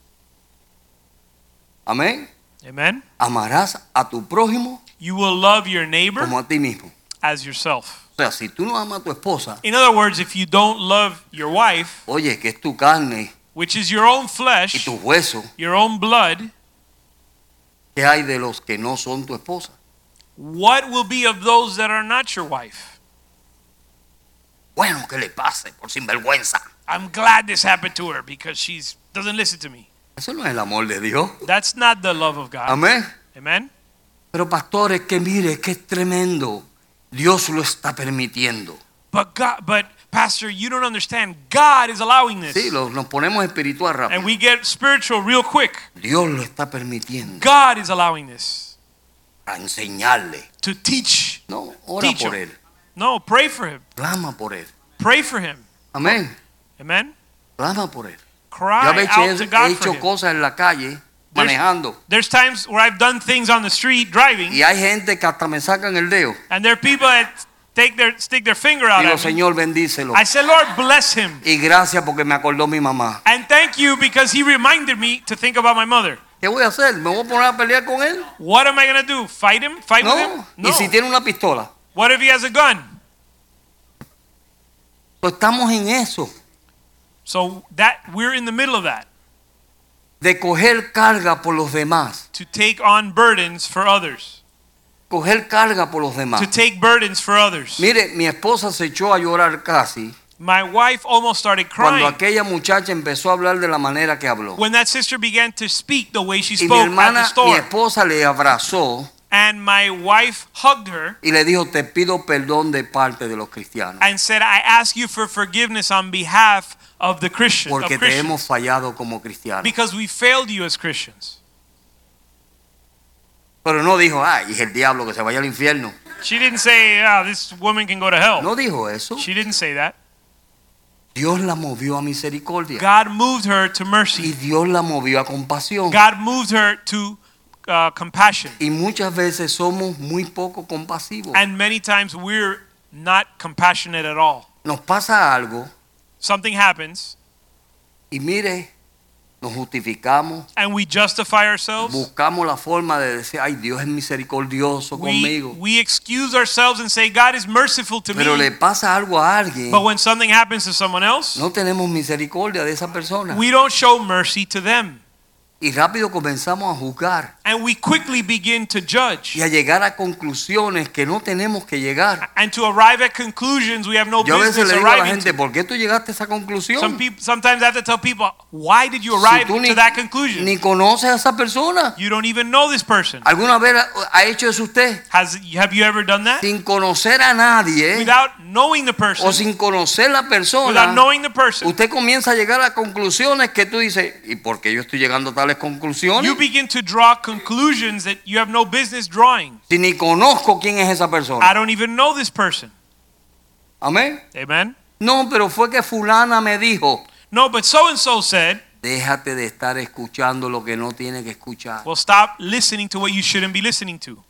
Amén. Amen. Amarás a tu prójimo You will love your neighbor como a ti mismo. as yourself. O sea, si tú no amas a tu esposa, In other words, if you don't love your wife, oye, que es tu carne which is your own y flesh, tus huesos, your own blood, ¿qué hay de los que no son tu esposa? what will be of those that are not your wife? Bueno, que le pase por sinvergüenza. I'm glad this happened to her because she doesn't listen to me. Eso no es el amor de Dios. That's not the love of God. Amén. Amen. Pero pastores, que mire, que es tremendo. Dios lo está permitiendo. But Pastor, you don't understand. God is allowing this. Sí, nos ponemos espiritual rápido. And we get spiritual real quick. Dios lo está permitiendo God is allowing this para enseñarle. to teach. No, ora Teach por him. él. No, pray for him. Clama por él. Pray for him. Amén. Amen. Clama por él. Yo Cry a veces out to he God for hecho him. cosas en la calle manejando There's times where I've done things on the street driving, y hay gente que hasta me sacan el dedo. and there are people that stick their finger out Digo, at me. Señor, bendícelo. I said, Lord, bless him. Y gracias porque me acordó mi mamá. And thank you because he reminded me to think about my mother. ¿Qué voy a hacer? ¿Me voy a poner a pelear con él? What am I going to do? Fight him? Fight with him? No. ¿Y si tiene una pistola? What if he has a gun? Pues estamos en eso, So that we're in the middle of that, de coger carga por los demás. to take on burdens for others. Coger carga por los demás. To take burdens for others. Mire, mi esposa se echó a llorar casi My wife almost started cuando crying aquella muchacha empezó a hablar de la manera que habló. when that sister began to speak the way she Y mi spoke at the hermana, mi store. esposa le abrazó And my wife hugged her y le dijo, te pido perdón de parte de los cristianos. and said, I ask you for forgiveness on behalf of the Christians. Porque te hemos fallado como cristianos. Because we failed you as Christians. Pero no dijo, ay, es el diablo que se vaya al infierno. She didn't say, this woman can go to hell. No dijo eso. She didn't say that. Dios la movió a misericordia. God moved her to Y mercy. Dios la movió a compasión. God moved her to compassion. Y muchas veces somos muy poco compasivos. And many times we're not compassionate at all. Nos pasa algo Something happens y mire, nos justificamos, and we justify ourselves. buscamos la forma de decir, ay, Dios es misericordioso conmigo. We excuse ourselves and say, God is merciful to Pero me. le pasa algo a alguien, But when something happens to someone else, no tenemos misericordia de esa persona. we don't show mercy to them. Y rápido comenzamos a juzgar And we quickly begin to judge. y a llegar a conclusiones que no tenemos que llegar. And to arrive at conclusions we have no Yo a veces business le digo a la arriving gente, to. ¿por qué tú llegaste a esa conclusión? Sometimes I have to tell people, why did you Si arrive tú to that conclusion? ni conoces a esa persona. You don't even know this person. ¿Alguna vez ha hecho eso usted? Have you ever done that? Sin conocer a nadie Without knowing the person, o sin conocer la without persona, knowing the person, usted comienza a llegar a conclusiones que tú dices, ¿y por qué yo estoy llegando a tales conclusiones? you begin to draw conclusions that you have no business drawing. Si ni conozco quién es esa I persona. don't even know this person. Amén. Amen? No, pero fue que fulana me dijo, No, but so and so said, déjate de estar escuchando lo que no tiene que escuchar. well, stop listening to what you shouldn't be listening to.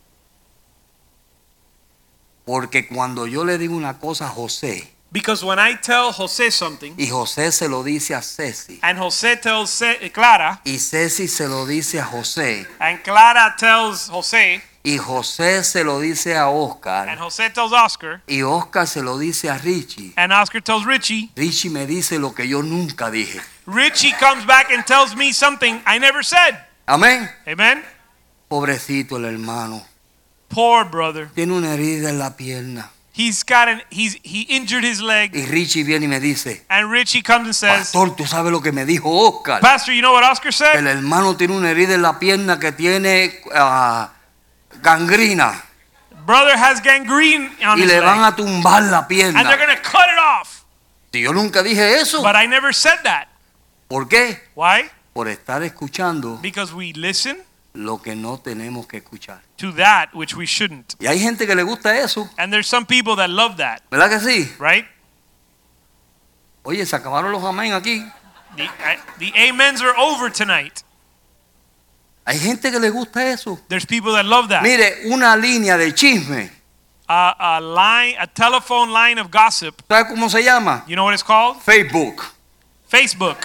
Porque cuando yo le digo una cosa a José, Because when I tell Jose something, y José se lo dice a Ceci, and Jose tells Clara, y Ceci se lo dice a José, and Clara tells Jose, y José se lo dice a and Oscar, Jose tells Oscar, y Oscar se lo dice a Richie, and Oscar tells Richie, Richie me dice lo que yo nunca dije. Richie comes back and tells me something I never said. Amén. Amen? Pobrecito el hermano, Poor brother. tiene una herida en la pierna. He injured his leg, Y Richie viene y me dice, and Richie comes and says, pastor, ¿tú sabes lo que me dijo Oscar? Pastor, you know what Oscar said? El hermano tiene una herida en la pierna que tiene gangrina Brother has gangrene on y his le van leg, a tumbar la and they're pierna. going to cut it off. Si yo nunca dije eso, But I never said that. ¿por qué? Why? Por estar escuchando Because we listen lo que no tenemos que escuchar. to that which we shouldn't. Y hay gente que le gusta eso, And there's some people that love that, ¿verdad que sí? right? Oye, se acabaron los amén aquí. The amens are over tonight. Hay gente que le gusta eso. There's people that love that. Mire, una línea de chisme. A telephone line of gossip. ¿Sabe cómo se llama? You know what it's called? Facebook. Facebook.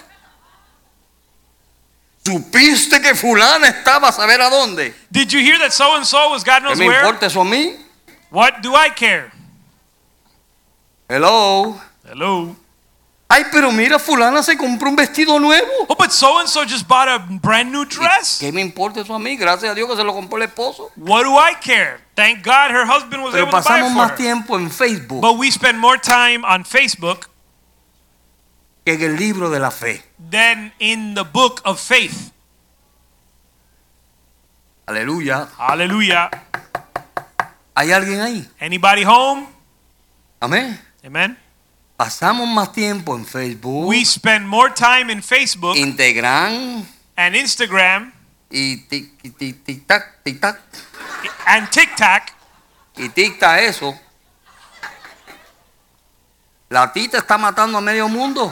¿Supiste que fulana estaba a saber a dónde? Did you hear that so and so was God ¿Qué knows me where? importa eso a mí? What do I care? Hello. Hello. Ay, pero mira, fulana se compró un vestido nuevo. Oh, but so and so just bought a brand new dress. ¿Qué me importa eso a mí? Gracias a Dios que se lo compró el esposo. What do I care? Thank God her husband was Pero able to buy pasamos it más for her. tiempo en Facebook But we spend more time on Facebook que en el libro de la fe. than in the book of faith. Aleluya. Hallelujah. ¿Hay alguien ahí? Anybody home? Amén. Amen. Pasamos más tiempo en Facebook, We spend more time in Facebook Instagram and Instagram y tic-tac, tic-tac. and TikTok. Y tic-tac eso. La tita está matando a medio mundo.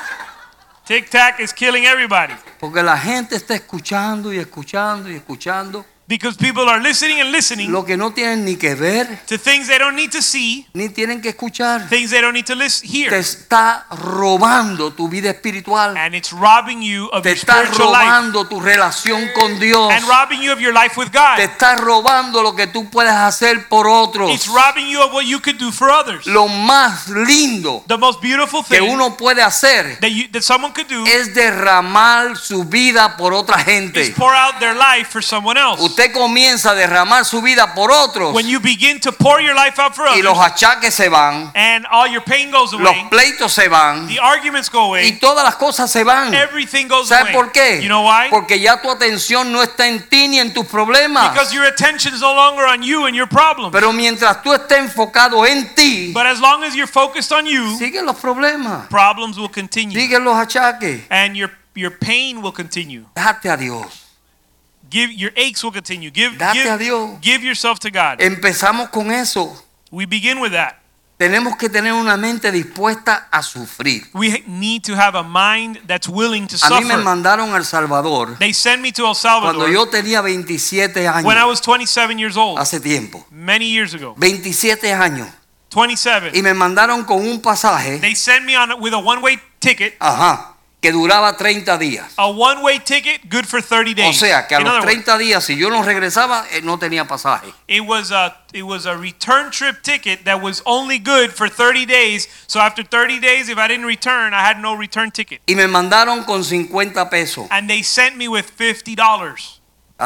TikTok is killing everybody Porque la gente está escuchando y escuchando y escuchando because people are listening and listening lo que no tienen ni que ver, to things they don't need to see, ni tienen que escuchar. things they don't need to Te hear, está robando tu vida espiritual. and it's robbing you of Te your está spiritual life robando tu relación con Dios. and robbing you of your life with Te God. está robando lo que tú puedes hacer por otros. It's robbing you of what you could do for others. Lo más lindo The most beautiful que thing uno puede hacer that someone could do es derramar su vida por otra is gente. pour out their life for someone else. Usted comienza a derramar su vida por otros When you begin to pour your life out for y los others achaques se van, and all your pain goes los away, pleitos se van the arguments go y away, todas las cosas se van. everything goes ¿Sabe away. por qué? You know why? Porque ya tu atención no está en ti ni en tus problemas. Because your attention is no longer on you and your problems. Pero mientras tú estés enfocado en ti, But as long as you're focused on you, siguen los problemas, problems will continue siguen los achaques. and your pain will continue. Date a Dios. Your aches will continue. Date a Dios. Give yourself to God. Empezamos con eso. We begin with that. Tenemos que tener una mente dispuesta a sufrir. We need to have a mind that's willing to A mí me suffer. mandaron a El Salvador They sent me to El cuando Salvador yo tenía 27 años. when I was 27 years old, Hace tiempo. many years ago. 27 años. 27. Y me mandaron con un pasaje, They sent me with a one-way ticket. que duraba 30 días. A one-way ticket, good for 30 O days. sea, que a In los other words, 30 días, si yo no regresaba, no tenía pasaje. it was a return trip ticket that was only good for 30 days. So after 30 days, if I didn't return, I had no return ticket. Y me mandaron con 50 pesos. And they sent me with $50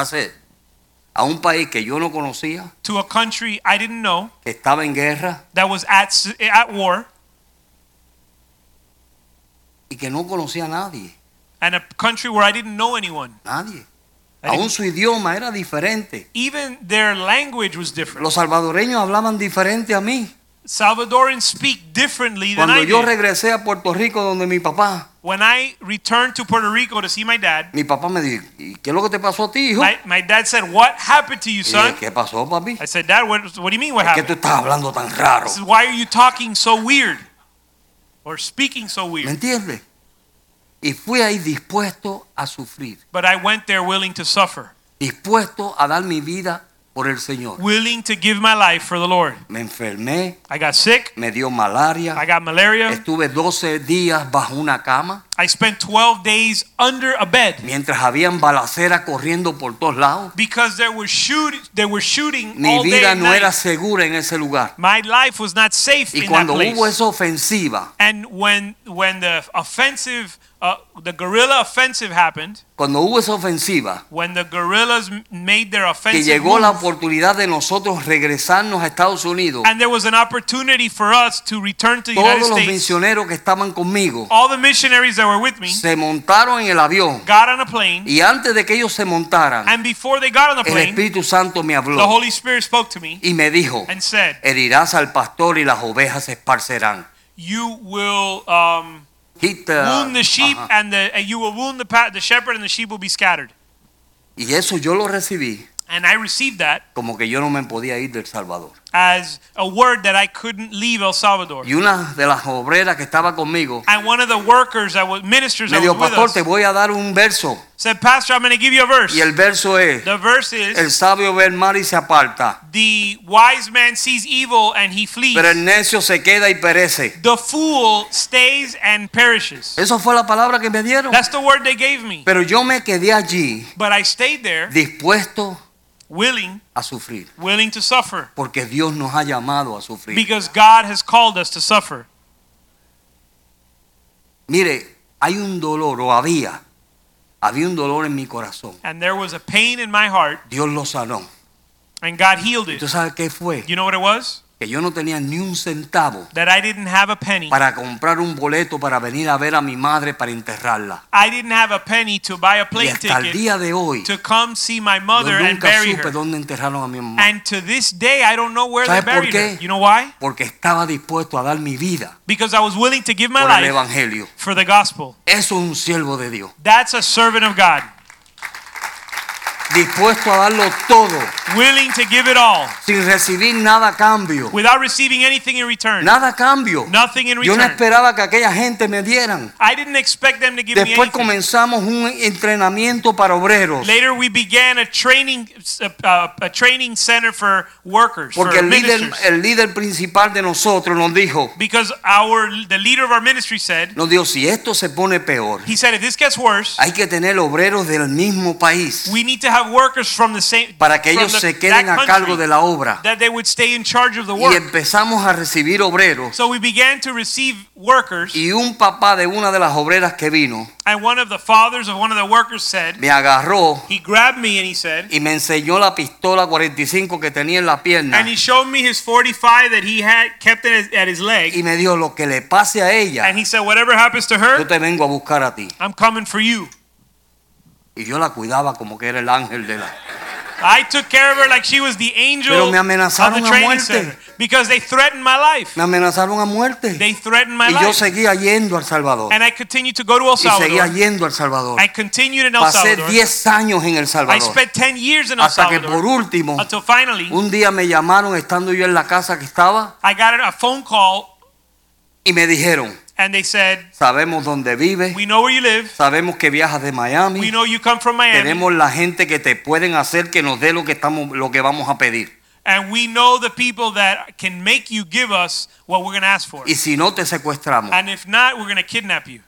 A un país que yo no conocía, to a country I didn't know que estaba en guerra that was at war, y que no conocía a nadie. and a country where I didn't know anyone. Nadie. I didn't- Aún su idioma era diferente. Even their language was different. Los salvadoreños hablaban diferente a mí. Salvadorans speak differently than Cuando I yo did. regresé a Puerto Rico donde mi papá When I returned to Puerto Rico to see my dad, me dijo, ¿y qué es lo que te pasó a ti, hijo? my dad said, "What happened to you, Y son?" dije, ¿qué pasó, papi? I said, "Dad, what do you mean what Es que tú happened? estás hablando tan raro. He said, why are you talking so weird or speaking so ¿Me weird?" entiendes? Y fui ahí dispuesto a sufrir, But I went there willing to suffer, dispuesto a dar mi vida por el Señor. willing to give my life for the Lord. Me enfermé, I got sick. me dio malaria, I got malaria. estuve 12 días bajo una cama, I spent 12 days under a bed mientras habían balaceras corriendo por todos lados. because they were shooting Mi all day vida and no era night. segura en ese lugar. My life was not safe Y in that cuando place. hubo esa ofensiva, And when the offensive, the guerrilla offensive happened, cuando hubo esa ofensiva, when the guerrillas made their que offensive llegó la move, oportunidad de nosotros regresarnos a Estados Unidos, and there was an opportunity for us to return to the United todos los States, misioneros que estaban conmigo all the missionaries that were with me se montaron en el avión got on a plane, y antes de que ellos se montaran, and before they got on the el plane, Espíritu Santo me the habló Holy Spirit spoke to me y me dijo, and said, herirás al pastor y las ovejas se esparcerán. "You will Hit the- wound the sheep, Ajá. and you will wound the shepherd, and the sheep will be scattered." Y eso yo lo recibí And I received that como que yo no me podía ir del Salvador. as a word that I couldn't leave El Salvador. Y una de las obreras que estaba conmigo And one of the workers that was ministers me that dijo, was with pastor, us te voy a dar un verso. said, Pastor, I'm going to give you a verse. Y el verso es, The verse is, el sabio ve el mal y se aparta, the wise man sees evil and he flees. pero el necio se queda y perece. The fool stays and perishes. Eso fue la palabra que me dieron. That's the word they gave me. Pero yo me quedé allí But I stayed there dispuesto willing a sufrir, to suffer porque Dios nos ha llamado a sufrir. because God has called us to suffer. Mire, hay un dolor, o había un dolor en mi corazón. And there was a pain in my heart Dios lo sanó. and God healed ¿Tú it. sabes qué fue? You know what it was? Que yo no tenía ni un centavo That I didn't have a penny. para comprar un boleto para venir a ver a mi madre para enterrarla. I didn't have a penny to buy a Y plane hasta el ticket día de hoy, to come see my yo mother and nunca bury supe her. dónde enterraron a mi mamá. And to this day, I don't know where they ¿Sabes por buried qué? her. You know why? Porque estaba dispuesto a dar mi vida Because I was willing to give my por el life evangelio. for the gospel. Eso es un siervo de Dios. That's a servant of God. Dispuesto a darlo todo, Willing to give it all sin recibir nada a cambio. without receiving anything in return. Nada a cambio. Nothing in Yo no return. esperaba que aquella gente me dieran. I didn't expect them to give me Después anything. comenzamos un entrenamiento para obreros. Later we began a training center for workers, Porque for el ministers. líder principal de nosotros nos dijo, Because the leader of our ministry said, si esto se pone peor, he said, if this gets worse, hay que tener obreros del mismo país we need to have workers from the same para que from ellos the- se queden that a cargo country, de la obra. that they would stay in charge of the Y work. empezamos a recibir obreros. So we began to receive workers, Y un papá de una de las obreras que vino and one of the fathers of one of the workers said, me agarró he grabbed me and he said, y me enseñó la pistola 45 que tenía en la pierna. and he showed me his 45 that he had kept at his leg, Y me dijo, lo que le pase a ella, and he said, whatever happens to yo her, te vengo a buscar a ti. I'm coming for you. Y yo la cuidaba como que era el ángel de la... I took care of her like she was the angel Pero me of amenazaron the a training muerte. center because they threatened my life. Me amenazaron a muerte. They threatened my Y yo life. seguía yendo al Salvador. And I continued to go to El Y seguía Salvador. yendo al Salvador. I continued in El Pasé Salvador. 10 años en El I Salvador. spent 10 years in El Hasta que por Salvador último, until finally un día me llamaron estando yo en la casa que estaba I got a phone call y me dijeron, and they said, sabemos dónde vives, we know where you live. sabemos que viajas de We Miami, know you come from Miami. tenemos la gente que te pueden hacer que nos dé lo que vamos a pedir. And we know the people that can make you give us what we're going to ask for. Y si no te secuestramos. And if not, we're going to kidnap you.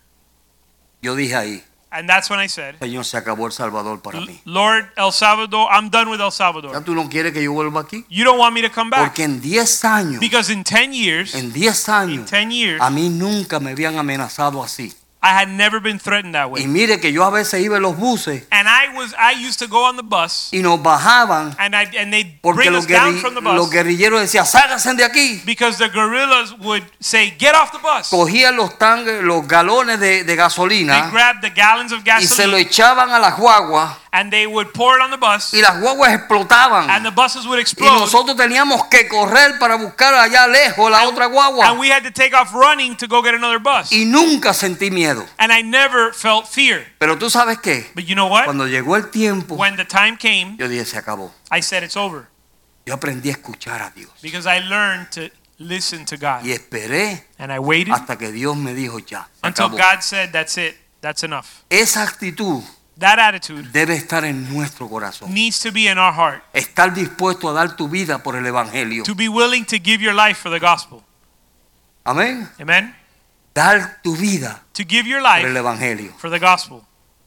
Yo dije ahí, And that's when I said, Señor, se acabó El Salvador para mí. Lord, El Salvador, I'm done with El ¿Ya Salvador. tú no quieres que yo vuelva aquí? You don't want me to come back. Porque en 10 años, Because in 10 years, en 10 años, 10 years, a mí nunca me habían amenazado así. I had never been threatened that Y way. mire que yo a veces iba en los buses And I used to go on the bus y nos bajaban and they'd porque bring us down from the los bus guerrilleros decían, sálganse de aquí. because the guerrillas would say, get off the bus. Cogían los galones de They gasolina grabbed the gallons of y se lo gasoline echaban a las guaguas and they would pour it on the bus y las guaguas explotaban. and the buses would Y explode. nosotros teníamos que correr para buscar allá lejos la otra And guagua. we had to take off running to go get another bus. Y nunca sentí miedo. And I never felt fear. Pero tú sabes qué, But you know what? cuando llegó el tiempo, When the time came, yo dije, se acabó. I said it's over Yo aprendí a escuchar a Dios. because I learned to listen to God. Y esperé And I waited hasta que Dios me dijo, ya, se until acabó. God said, that's it. That's enough. Esa actitud That attitude debe estar en nuestro corazón. needs to be in our heart. Estar dispuesto a dar tu vida por el Evangelio. To be willing to give your life for the gospel. Amén. Amen? Dar tu vida To give your por el life Evangelio. for the gospel.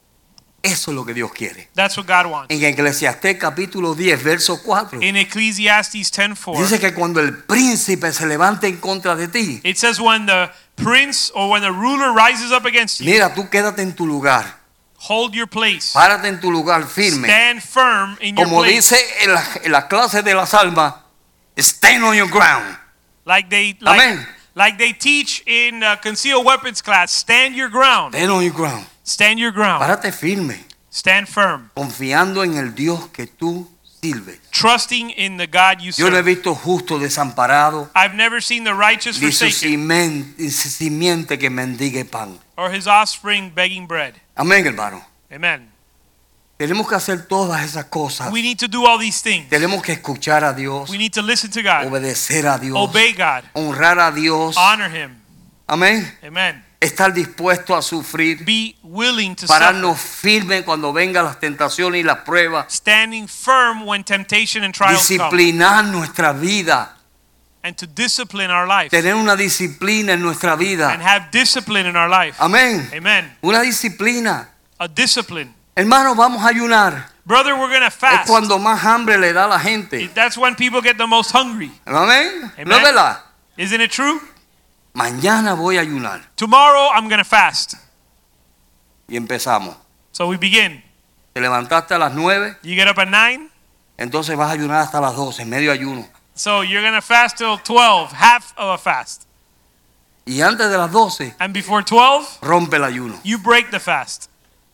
Eso es lo que Dios quiere. That's what God wants. En Eclesiastés capítulo 10, verso 4. In Ecclesiastes 10:4, Dice que cuando el príncipe se levante en contra de ti, it says when the prince or when the ruler rises up against you, mira, tú quédate en tu lugar. hold your place. Párate en tu lugar firme. Stand firm in your Como place. dice en la clase de las almas, stand on your ground. Like they Amén. like they teach in concealed weapons class, stand your ground. Stand on your ground. Stand your ground. Párate firme, Stand firm. confiando en el Dios que tú sirves. Trusting in the God you Yo no he serve. visto justo desamparado, I've never seen the righteous ni su forsaken simiente que mendigue pan. or his offspring begging bread. Amén, hermano. Amen. Tenemos que hacer todas esas cosas. We need to do all these things. Tenemos que escuchar a Dios, We need to listen to God, obedecer a Dios, obey God, honrar a Dios. honor Him. Amén. Amen. Estar dispuesto a sufrir, Be willing to suffer. pararnos firmes cuando vengan las tentaciones y las pruebas, Standing firm when temptation and trials come. disciplinar nuestra vida, And to discipline our life. tener una disciplina en nuestra And vida. have discipline in our life. Amén. Amen. Una disciplina. A discipline. Hermanos, vamos a ayunar. Brother, we're going to Es fast. cuando más hambre le da a la gente. That's when people get the most hungry. Amén. Amen. ¿No es verdad? Isn't it true? Mañana voy a ayunar. Tomorrow I'm going to fast. Y empezamos. So we begin. Te levantaste a las 9, You get up at 9. entonces vas a ayunar hasta las 12, medio ayuno. So you're going to fast till 12, half of a fast. Y antes de las 12, And before 12, rompe el ayuno. you break the fast.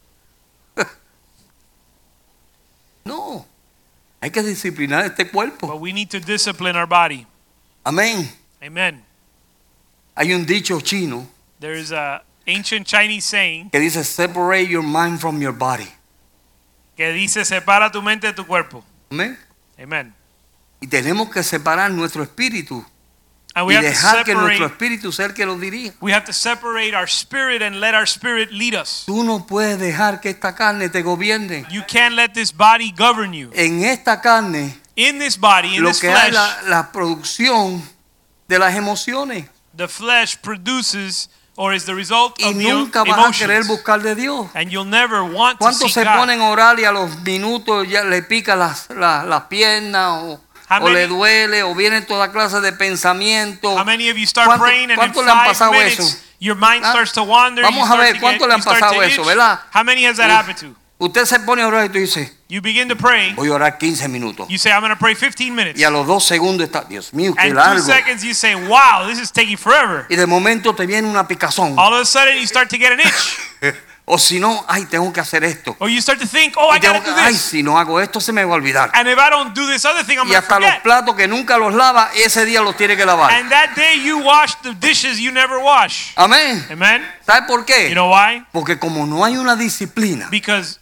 No, hay que disciplinar este cuerpo. But we need to discipline our body. Amén. Amen. Hay un dicho chino There is a ancient Chinese saying que dice separate your mind from your body. que dice separa tu mente de tu cuerpo. Amén. Amen. Y tenemos que separar nuestro espíritu And we y have to dejar que nuestro separate. espíritu sea el que lo dirija. We have to separate our spirit and let our spirit lead us. Tú no puedes dejar que esta carne te gobierne. You can't let this body govern you. En esta carne In this body, in lo this que hay flesh, la producción de las emociones. the flesh produces or is the result Y of the nunca vas a querer emotions. buscar de Dios. And you'll never want to ¿Cuántos seek se God. ponen a orar y a los minutos ya le pica las piernas How o le many- duele o vienen toda clase de pensamientos? How many of you start ¿Cuánto- praying and in cuánto le han 5 pasado minutes eso? your mind ¿Ah? starts to wander? Vamos you a ver, start to ¿cuánto get- le han you start pasado to eso, itch? verdad? How many has that happened to? Usted se pone a orar y tú dices, You begin to pray. voy a orar 15 minutos. You say, I'm going to pray 15 minutes. Y a los 2 segundos está, Dios mío, qué And 2 largo. seconds you say, wow, this is taking forever. Y de momento te viene una picazón. All of a sudden you start to get an itch. O si no, ay, tengo que hacer esto. Or you start to think, oh, I Y tengo got to que- do ay, this. si no hago esto se me va a olvidar. And if I don't do this other thing, I'm Y going to hasta los forget. platos que nunca los lava, ese día los tiene que lavar. And that day you wash the dishes you never wash. Amén. Amen? ¿Sabe por qué? You know why? Porque como no hay una disciplina, Because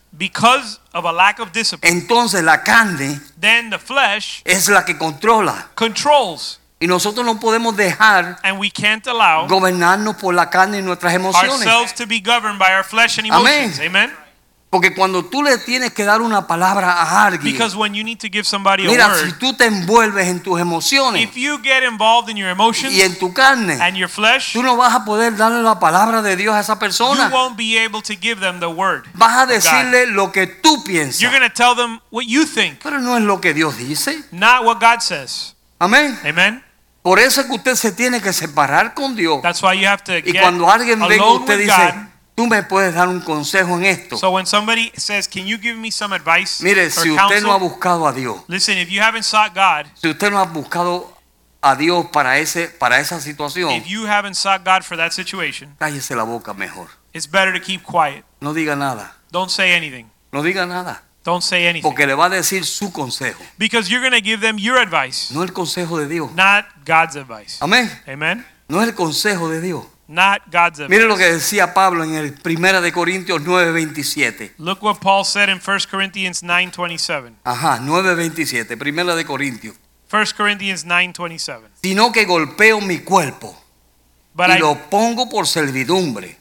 of a lack of discipline, entonces la carne then the flesh es la que controla. controls. Y nosotros no podemos dejar And we can't allow gobernarnos por la carne y nuestras emociones. ourselves to be governed by our flesh and Amén. emotions. Amen? Porque cuando tú le tienes que dar una palabra a alguien, Because when you need to give somebody a mira, si word, tú te envuelves en tus emociones if you get involved in your emotions y en tu carne, and your flesh, tú no vas a poder darle la palabra de Dios a esa you persona. won't be able to give them the word. Vas a of God. decirle lo que tú piensas, You're going to tell them what you think, pero no es lo que Dios dice. not what God says. Amén. Amen? Por eso es que usted se tiene que separar con Dios. That's why you have to Y get cuando alguien venga, alone usted with dice, God. tú me puedes dar un consejo en esto. So when somebody says, can you give me some advice Mire, or si usted no ha counsel? buscado a Dios, Listen, if you haven't sought God, si usted no ha buscado a Dios para esa situación, if you haven't sought God for that situation, cállese la boca mejor. it's better to keep quiet. No diga nada. Don't say anything. No diga nada. Don't say anything. Porque le va a decir su consejo, Because you're going to give them your advice, no el consejo de Dios. not God's advice. Amén. Amen? No es el consejo de Dios. Not God's advice. Mire lo que decía Pablo en el 1 de Corintios 9:27. Look what Paul said in 1 Corinthians 9:27. Ajá, 9:27, 1 de Corintios. 1 Corinthians 9:27. Sino que golpeo mi cuerpo But y I, lo pongo por servidumbre.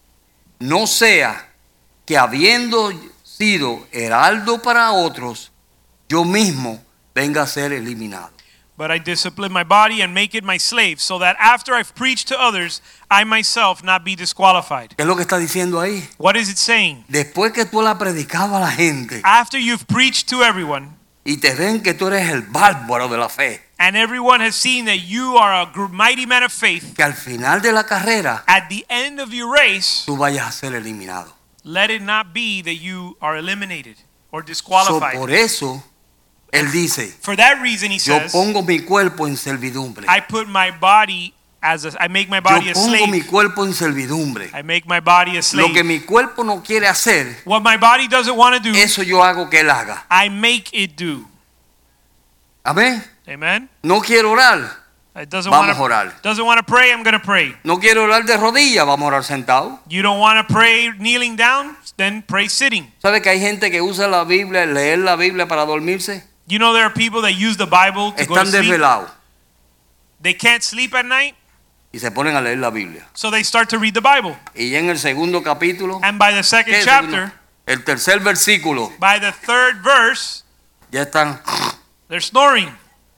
No sea que habiendo sido heraldo para otros, yo mismo venga a ser eliminado. but I discipline my body and make it my slave, so that after I've preached to others, I myself not be disqualified. ¿Qué es lo que está diciendo ahí? What is it saying? Después que tú le has predicado a la gente After you've preached to everyone, y te ven que tú eres el bárbaro de la fe, and everyone has seen that you are a mighty man of faith, que al final de la carrera at the end of your race, tú vayas a ser eliminado. let it not be that you are eliminated or So, disqualified. por eso él dice, For that reason, he yo says, pongo mi cuerpo en servidumbre. I put my body I make my body Yo a pongo mi slave. cuerpo en servidumbre. I make my body a Lo que slave. mi cuerpo no quiere hacer, What my body doesn't want to do, eso yo hago que él haga. I make it do. Amén. Amen? No quiero orar. It doesn't Vamos a want orar. to. Doesn't want to pray. I'm going to pray. No quiero orar de rodillas, vamos a orar sentado. You don't want to pray kneeling down? Then pray sitting. ¿Sabe que hay gente que usa la Biblia, leer la Biblia para dormirse? You know there are people that use the Bible to go to Están sleep. desvelados They can't sleep at night, y se ponen a leer la Biblia. so they start to read the Bible. Y ya en el segundo capítulo, And by the second ¿qué es el chapter, segundo? El tercer versículo, by the third verse, ya están. they're snoring.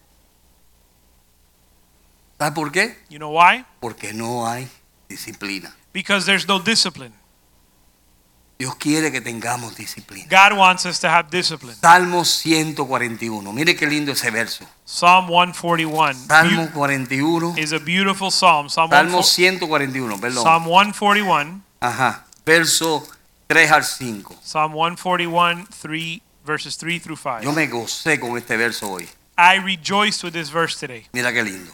¿Sabe por qué? You know why? Porque no hay disciplina. Because there's no discipline. Dios quiere que tengamos disciplina. God wants us to have discipline. Salmo 141. Mire qué lindo ese verso. Psalm 141 Salmo 41. is a beautiful psalm. Salmo 141, perdón. Psalm 141. Ajá. Verso 3 al 5. Psalm 141, verses 3 through 5. Yo me gocé con este verso hoy. I rejoiced with this verse today. Mira qué lindo.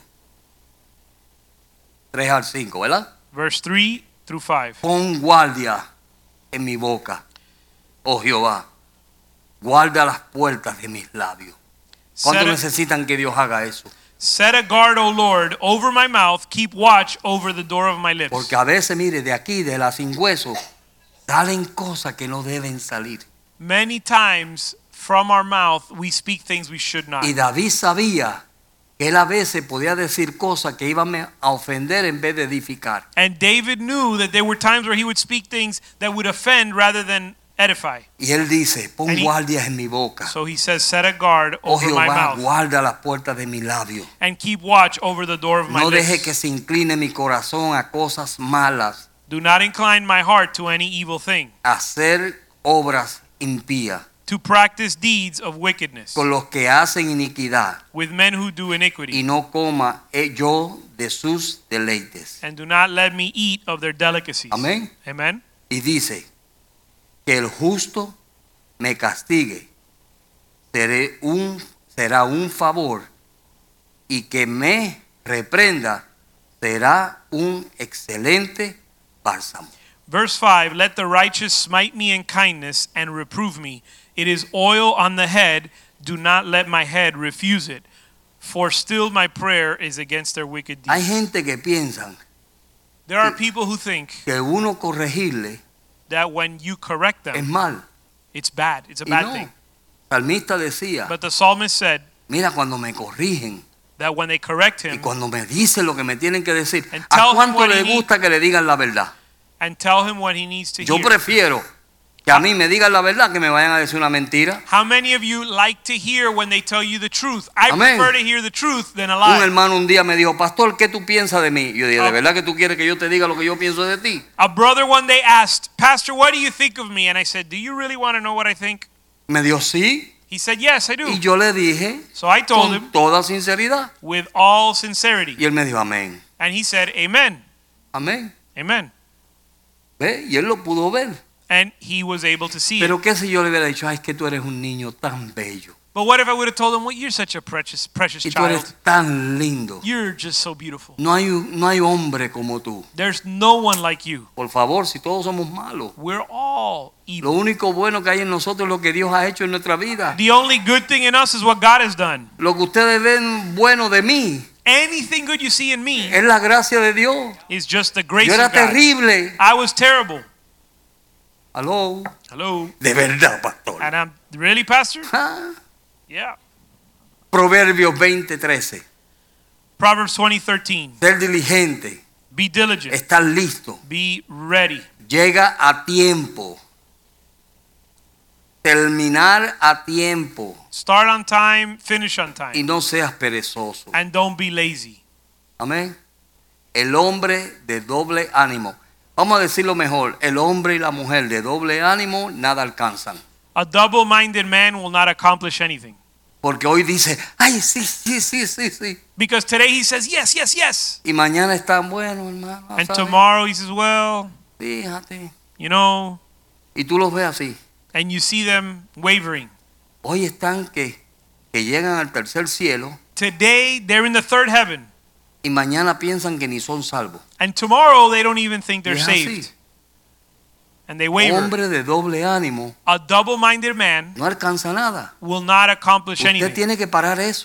3 al 5, ¿verdad? Verse 3 through 5. Pon guardia en mi boca, oh Jehová. Guarda las puertas de mis labios. ¿Cuánto necesitan que Dios haga eso? Set a guard, O Lord, over my mouth. Keep watch over the door of my lips. Porque a veces, mire, de aquí, de la sin hueso, salen cosas que no deben salir. Many times from our mouth we speak things we should not. Y David sabía que él a veces podía decir cosas que iban a ofender en vez de edificar. And David knew that there were times where he would speak things that would offend rather than edify. Y él dice, pon guardias en mi boca. So he says, set a guard Oh over my Jehová, mouth guarda las puertas de mi labio. and keep watch over the door of my No deje lips. que se incline mi corazón a cosas malas, Do not incline my heart to any evil thing, a hacer obras impías to practice deeds of wickedness con los que hacen iniquidad, with men who do y iniquity. no coma yo de sus deleites. And do not let me eat of their delicacies. Amén. Amen. Y dice que el justo me castigue, será un favor, y que me reprenda será un excelente bálsamo. Verse 5, let the righteous smite me in kindness and reprove me. It is oil on the head. Do not let my head refuse it. For still my prayer is against their wicked Hay deeds. gente que piensan There are people who think que uno corregirle that when you correct es them, mal. it's bad. It's a Y bad no. thing. El salmista decía, But the psalmist said mira, cuando me corrigen that when they correct y him cuando me dicen lo que me tienen que decir, And ¿a tell him cuánto what le he gusta que le digan la verdad? and tell him what he needs to Yo hear. prefiero que a mí me digan la verdad que me vayan a decir una mentira. How many of you like to hear when they tell you the truth? I Amen. prefer to hear the truth than a Un lie. hermano un día me dijo, pastor, ¿qué tú piensas de mí? Yo dije, ¿de verdad que tú quieres que yo te diga lo que yo pienso de ti? A brother one day asked, Pastor, what do you think of me? And I said, do you really want to know what I think? Me dijo, sí. He said, yes, I do. Y yo le dije, So I told him con toda sinceridad. with all sincerity. Y él me dijo, amén. And he said, amen, Amén. amen. ¿Ve? Y él lo pudo ver. And he was able to see it. Pero qué si yo le hubiera dicho, ay, es que tú eres un niño tan bello. But what if I would have told him, well, you're such a precious Y tú child. eres tan lindo. You're just so beautiful. No hay hombre como tú. There's no one like you. Por favor, si todos somos malos. We're all Lo evil. único bueno que hay en nosotros es lo que Dios ha hecho en nuestra vida. The only good thing in us is what God has done. Lo que ustedes ven bueno de mí Anything good you see in me es la gracia de Dios. is just the grace Yo era of God. terrible. I was terrible. Aló. Hello. De verdad, pastor. And I'm really, Pastor? Ah. Yeah. Proverbios 20:13. Proverbs 20:13. Ser diligente, Be diligent. estar listo, Be ready. llega a tiempo, terminar a tiempo Start on time, finish on y time. no seas perezoso. And don't be lazy. Amén. El hombre de doble ánimo. Vamos a decirlo mejor. El hombre y la mujer de doble ánimo nada alcanzan. A double-minded man will not accomplish anything. Porque hoy dice, ay, sí, sí, sí, sí, sí. Because today he says, yes, yes, yes. Y mañana está bueno, hermano. And ¿sabes? tomorrow he says, well, Fíjate. you know, Y tú los ves así. and you see them wavering. Hoy están que llegan al tercer cielo Today they're in the third heaven. y mañana piensan que ni son salvos. And tomorrow they don't even think they're Y es saved. así. And they waver. Hombre de doble ánimo A double-minded man no alcanza nada. will not accomplish Usted anything. tiene que parar eso.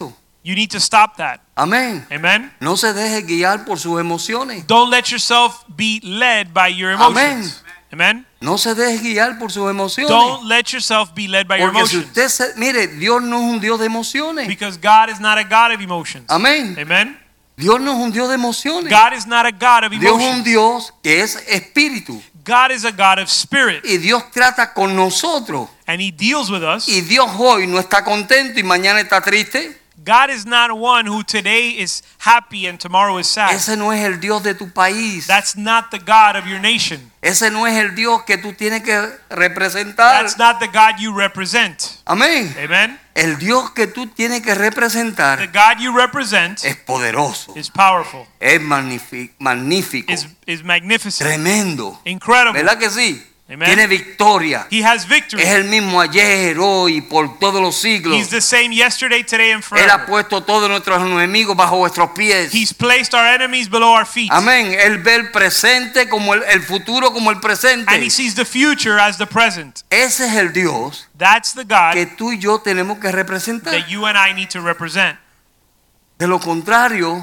You need to stop that. Amén. Amen. No se deje guiar por sus emociones. Don't let yourself be led by your emotions. Amen. No se deje guiar por sus emociones. Don't let yourself be led by your Porque si emotions. usted mire, Dios no es un Dios de emociones. Because God is not a God of emotions. Amén. Amen. Dios no es un Dios de emociones. God is not a God of Dios es un emotions. Dios que es espíritu. God is a God of spirit. Y Dios trata con nosotros. And He deals with us. Y Dios hoy no está contento y mañana está triste. God is not one who today is happy and tomorrow is sad. Ese no es el Dios de tu país. That's not the God of your nation. Ese no es el Dios que tú tienes que representar. That's not the God you represent. Amén. Amen. El Dios que tú tienes que The representar God you represent es poderoso, is powerful, es magnífico, is magnificent, tremendo. incredible. ¿Verdad que sí? Amen. Tiene victoria. He has victory. Es el mismo ayer, hoy, por todos los siglos. He's the same yesterday, today, and Él ha forever. puesto todos nuestros enemigos bajo vuestros pies. He's placed our enemies below our feet. Amén. Él ve el presente como el futuro como el presente. And He sees the future as the present. Ese es el Dios That's the God que tú y yo tenemos que representar. that you and I need to represent. De lo contrario,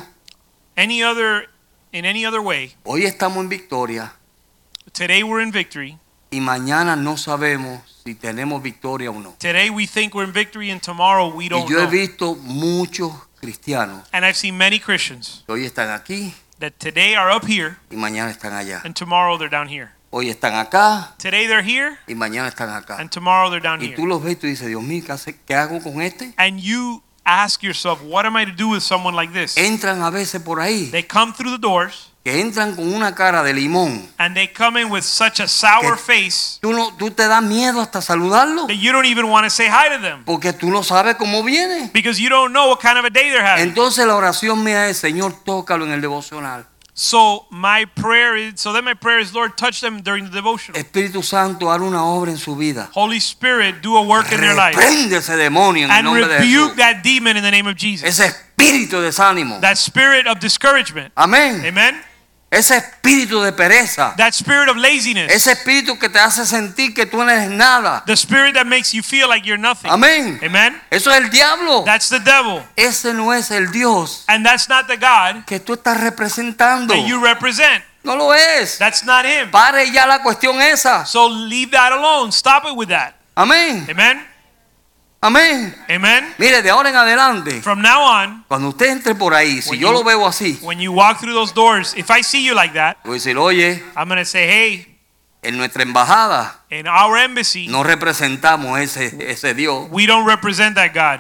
In any other way, hoy estamos en victoria today we're in victory. y mañana no sabemos si tenemos victoria o no. Today we think we're in victory, and tomorrow we Y don't yo he know. visto muchos cristianos And I've seen many Christians que hoy están aquí that today are up here y mañana están allá. and tomorrow they're down here. Hoy están acá Today they're here y mañana están acá. and tomorrow they're down Y here. tú los ves y tú dices, Dios mío, ¿qué hago con este? And you ask yourself, what am I to do with someone like this? Entran a veces por ahí, They come through the doors que entran con una cara de limón. and they come in with such a sour Que- face Tú te das miedo hasta saludarlo that you don't even want to say hi to them porque tú no sabes cómo viene. because you don't know what kind of a day they're having. Entonces la oración mía es, Señor, tócalo en el devocional. So then my prayer is, Lord, touch them during the devotional. Espíritu Santo, haz una obra en su vida. Holy Spirit, do a work in their life Reprende ese demonio en el and nombre de rebuke Jesús. that demon in the name of Jesus. Ese espíritu de desánimo. That spirit of discouragement. Amén. Amen. Ese espíritu de pereza. That spirit of laziness. Ese espíritu que te hace sentir que tú no eres nada. The spirit that makes you feel like you're nothing. Amén. Amen. Eso es el diablo. That's the devil. Ese no es el Dios And that's not the God que tú estás representando. that you represent. No lo es. That's not Him. Pare ya la cuestión esa. So leave that alone. Stop it with that. Amén. Amen. Amén. Amen. Mire, de ahora en adelante, From now on, cuando usted entre por ahí, si When yo you- lo veo así, when you walk through those doors, if I see you like that, voy a decir, oye, I'm going to say, hey, en nuestra embajada in our embassy, no representamos ese Dios, we don't represent that God.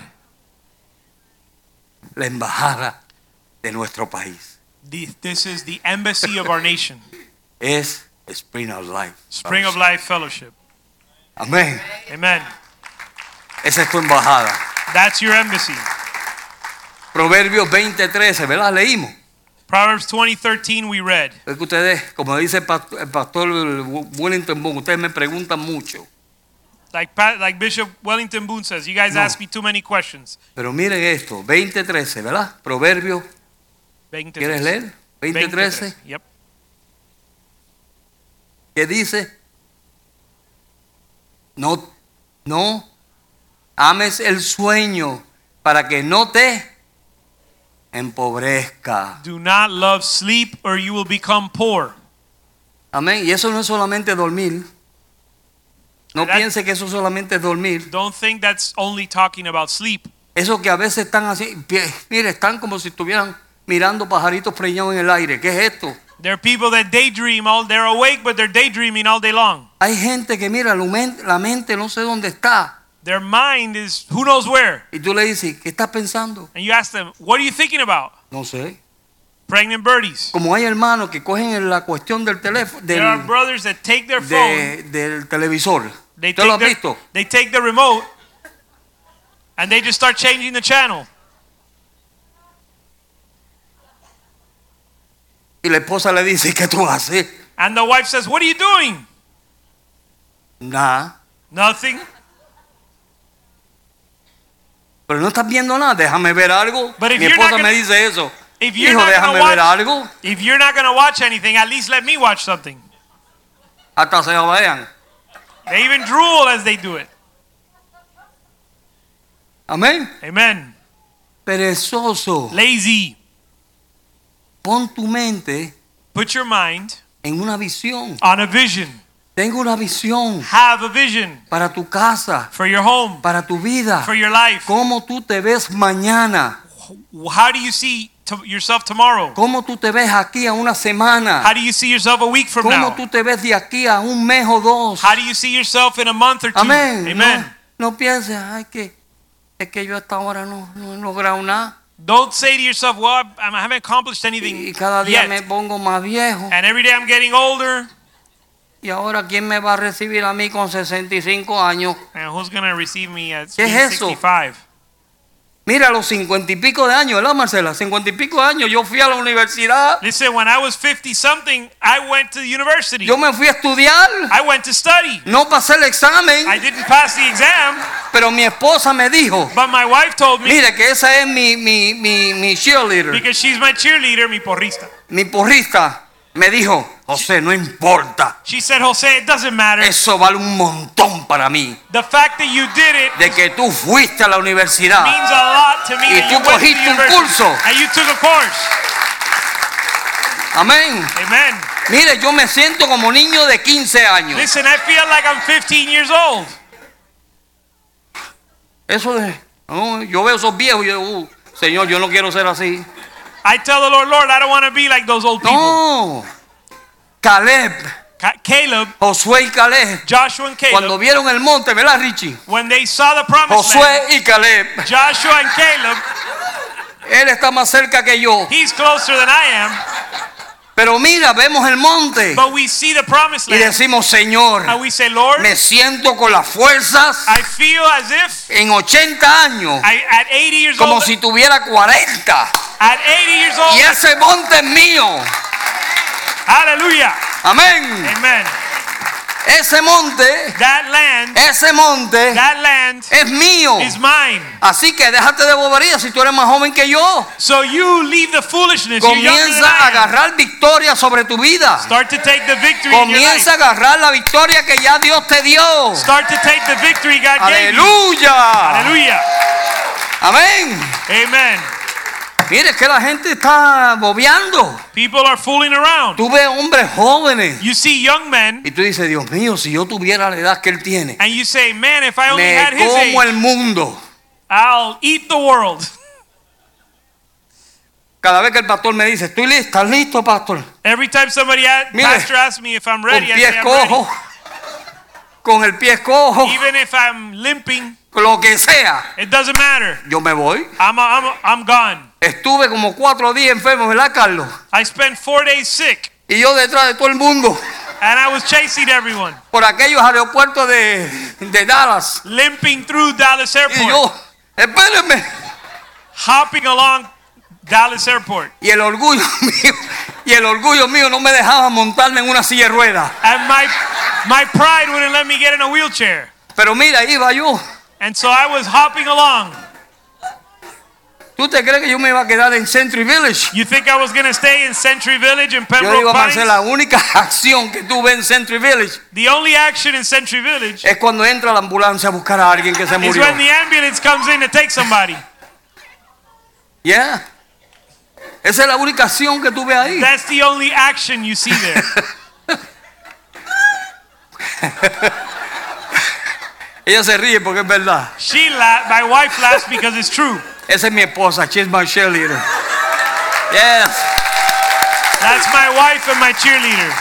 la embajada de nuestro país. This is the embassy of our nation, Es Spring of Life. Spring of Life Fellowship. Amén. Amen. Esa es tu embajada. That's your embassy. Proverbios 20:13, ¿verdad? Leímos. Proverbs 20:13 we read. Es que ustedes, como dice el pastor Wellington Boone, ustedes me preguntan mucho. Like Bishop Wellington Boone says, you guys No. ask me too many questions. Pero miren esto, 20:13, ¿verdad? Proverbios, ¿quieres leer? 20:13, Yep. que dice, no ames el sueño para que no te empobrezca. Do not love sleep or you will become poor. Amén. Y eso no es solamente dormir. No That- piense que eso solamente es dormir. Don't think that's only talking about sleep. Eso que a veces están así, mire, están como si estuvieran mirando pajaritos preñados en el aire. ¿Qué es esto? There are people that daydream they're awake, but they're daydreaming all day long. Hay gente que mira, la mente no sé dónde está. Their mind is who knows where. Y tú le dices, ¿qué estás pensando? And you ask them, what are you thinking about? No sé. Pregnant birdies. Como hay hermanos que cogen la cuestión del teléfono, There are brothers that take their phone, del televisor. they ¿Usted lo ha take, visto? they take the remote, and they just start changing the channel. Y la esposa le dice, ¿qué tú haces? And the wife says, what are you doing? Nada. Nothing. Pero no estás viendo nada, déjame ver algo. But if Mi you're esposa not me gonna- dice eso. If you're Hijo, not déjame gonna ver watch, algo. if you're not going to watch anything, at least let me watch something. Hasta se vean. They even drool as they do it. Amén. Amen. perezoso. lazy. Pon tu mente Put your mind en una visión. on a vision. Tengo una visión Have a vision para tu casa, for your home, para tu vida. for your life. ¿Cómo tú te ves mañana? How do you see yourself tomorrow? ¿Cómo tú te ves aquí a una semana? How do you see yourself a week from ¿Cómo now? tú te ves de aquí a un mes o dos? How do you see yourself in a month or two? Amén. Amen. No pienses, ay, es que yo hasta ahora no he logrado nada. Don't say to yourself, well, I haven't accomplished anything Y cada día yet. me pongo más viejo. And every day I'm getting older. Y ahora, ¿quién me va a recibir a mí con 65 años? And who's going to receive me at ¿Qué es eso? 65? Mira, a los 50 y pico de años, ¿verdad, Marcela? 50 y pico de años, yo fui a la universidad. Listen, when I was 50 something, I went to the university. Yo me fui a estudiar. I went to study. No pasé el examen, I didn't pass the exam, pero mi esposa me dijo, but my wife told me, mire que esa es mi cheerleader, because she's my cheerleader, mi porrista. mi porrista. Me dijo, José, no importa. She said, Jose, it doesn't matter. Eso vale un montón para mí. The fact that you did it De que tú fuiste a la universidad. means a lot to me. Y That tú you went to the cogiste un university curso. and you took a course. Amén. Amen. Mire, yo me siento como niño de 15 años. Listen, I feel like I'm 15 years old. Eso de, no, yo veo esos viejos y yo digo, Señor, yo no quiero ser así. I tell the Lord, Lord, I don't want to be like those old people. No. Caleb, Caleb, Josué y Caleb, Joshua and Caleb, cuando vieron el monte, ¿verdad, Richie? when they saw the promised land, Josué y Caleb, Joshua and Caleb, él está más cerca que yo. he's closer than I am, Pero mira, vemos el monte but we see the promised y land, decimos, Señor, and we say, Lord, me siento con las fuerzas I feel as if en 80 años, at 80 years como old, si tuviera 40. at 80 years old, Y ese monte es mío. hallelujah, Amén. amen. Ese monte That land es mío. is mine. Así que déjate de bobería si tú eres más joven que yo. So you leave the foolishness. You're younger than Comienza a I am. agarrar victoria sobre tu vida. Start to take the victory in your Comienza a life. agarrar la victoria que ya Dios te dio. Start to take the victory God gave you. Aleluya. Hallelujah. Amén. Amen. Mire, es que la gente está bobeando. People are fooling around. Tú ves hombres jóvenes You see young men, y tú dices, Dios mío, si yo tuviera la edad que él tiene, and you say, man, if I only me had his como age, el mundo. I'll eat the world. Cada vez que el pastor me dice, estoy listo, ¿estás listo, pastor? Every time somebody, Mire, pastor asks me if I'm Con ready, I pies say I'm ready. cojos, con el pie cojo, Even if I'm limping, lo que sea, it doesn't matter. yo me voy. I'm gone. Estuve como 4 días enfermo, ¿verdad, Carlos? I spent 4 days sick, Y yo detrás de todo el mundo, and I was chasing everyone, por aquellos aeropuertos de Dallas. limping through Dallas Y Airport, yo, espérenme. hopping along Dallas Airport. Y el orgullo mío no me dejaba montarme en una silla de ruedas. And my pride wouldn't let me get in a wheelchair. Pero mira, iba yo. And so I was hopping along. ¿Tú te crees que yo me iba a quedar en Century Village? You think I was going to stay in Century Village in Yo digo, Pembroke Marcela, la Pines? única acción que tú ves en Century Village The only action in Century Village es cuando entra la ambulancia a buscar a alguien que se is murió. when the ambulance comes in to take somebody. Yeah. Esa es la única acción que tú ves ahí. That's the only action you see there. Ella se ríe porque es verdad. My wife laughs because it's true. Esa es mi esposa. She's my cheerleader. Yes. That's my wife and my cheerleader.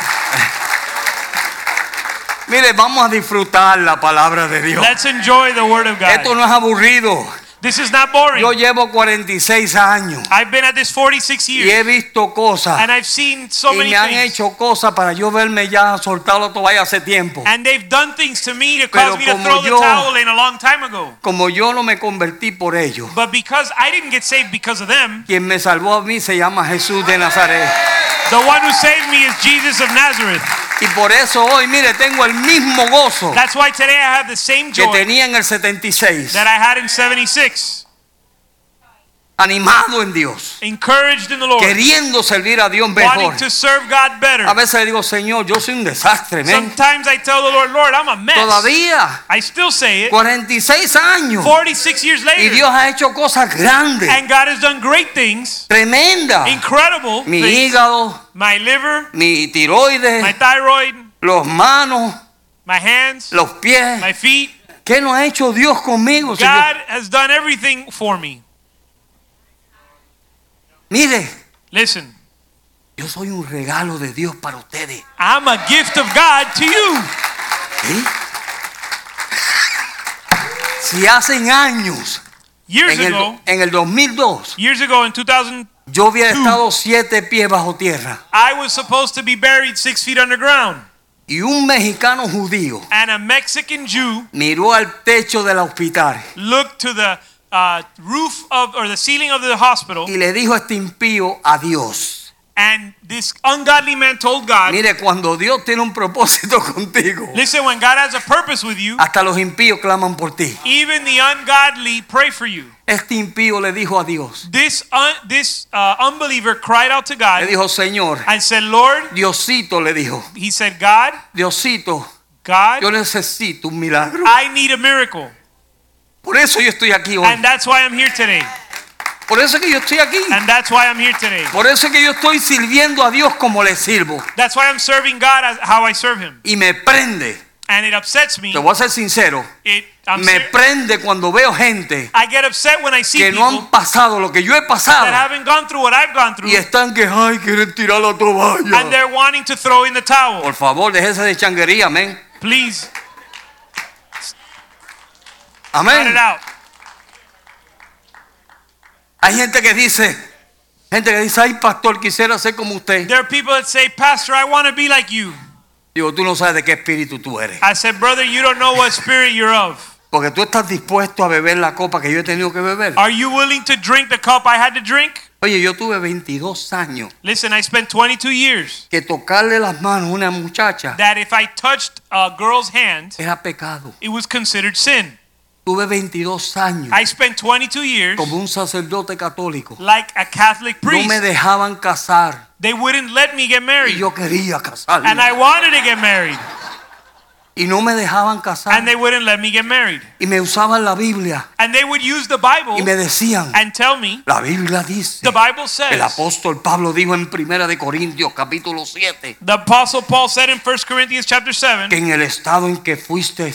Mire, vamos a disfrutar la palabra de Dios. Let's enjoy the Word of Esto God. no es aburrido. This is not boring. Yo llevo 46 años I've been at this 46 y he years, visto cosas and I've seen so y many me han things. hecho cosas para yo verme ya soltado la toalla hace tiempo. And they've done things to me to Pero cause me to como throw the yo- towel in a long time ago. Como yo no me convertí por ellos, But because I didn't get saved because of them, quien me salvó a mí se llama Jesús de Nazaret. the one who saved me is Jesus of Nazareth. Y por eso hoy, mire, tengo el mismo gozo That's why today I have the same que joy tenía en el 76. that I had in 76. animado en Dios, encouraged in the Lord, queriendo servir a Dios mejor. wanting to serve God better. A veces le digo, Señor, yo soy un desastre, man. Sometimes I tell the Lord, Lord, I'm a mess. Todavía, I still say it. 46 años. 46 years Y later. Dios ha hecho cosas grandes, And God has done great things, tremendas. incredible Mi things. hígado, My liver, mi tiroides, my thyroid, los manos, my hands, los pies. my feet. ¿Qué no ha hecho Dios conmigo, Señor? God has done everything for me. Mire, Listen, yo soy un regalo de Dios para ustedes. I'm a gift of God to you. ¿Sí? Si hacen años, Years ago en el 2002, in 2000, yo hubiera estado 7 pies bajo tierra. I was supposed to be buried 6 feet underground. Y un mexicano judío And a Mexican Jew miró al techo del hospital looked to the roof of, or the ceiling of the hospital, y le dijo a este impío adiós. and this ungodly man told God, Mire, cuando Dios tiene un propósito contigo, listen, when God has a purpose with you, hasta los impíos claman por ti. even the ungodly pray for you. Este impío le dijo a Dios. This unbeliever cried out to Le God dijo, Señor, and said, Lord, Diosito le dijo, he said, God, Diosito, God, yo necesito un milagro. I need a miracle. Por eso yo estoy aquí hoy. And that's why I'm here today. Por eso es que yo estoy aquí. And that's why I'm here today. Por eso es que yo estoy sirviendo a Dios como le sirvo. That's why I'm serving God as how I serve him. Y me prende. And it upsets me. Te voy a ser sincero. Me prende cuando veo gente I get upset when I see que no people han pasado lo que yo he pasado that haven't gone through what I've gone through, y están que ay quieren tirar la toalla. and they're wanting to throw in the towel. Por favor, déjese de changuería, amén. Please, cut Amén. it out. Hay gente que dice, ay pastor, quisiera ser como usted. There are people that say, Pastor, I want to be like you. Digo, tú no sabes de qué espíritu tú eres. I said, brother, you don't know what spirit you're of. Porque tú estás dispuesto a beber la copa que yo he tenido que beber. Are you willing to drink the cup I had to drink? Oye, yo tuve 22 años Listen, I spent 22 years que tocarle las manos a una muchacha that if I touched a girl's hand, era pecado. it was considered sin. Tuve 22 años I spent 22 years como un sacerdote católico. like a Catholic No priest. me dejaban casar They wouldn't let me get y married. yo quería casarme. And I wanted to get married. Y no me dejaban casar. And they wouldn't let me get married. Y me usaban la Biblia And they would use the Bible y me decían, and tell me, la Biblia dice, the Bible el says, apóstol Pablo dijo en 1 de Corintios capítulo 7, the Apostle Paul said in 1 Corinthians chapter 7, que en el estado en que fuiste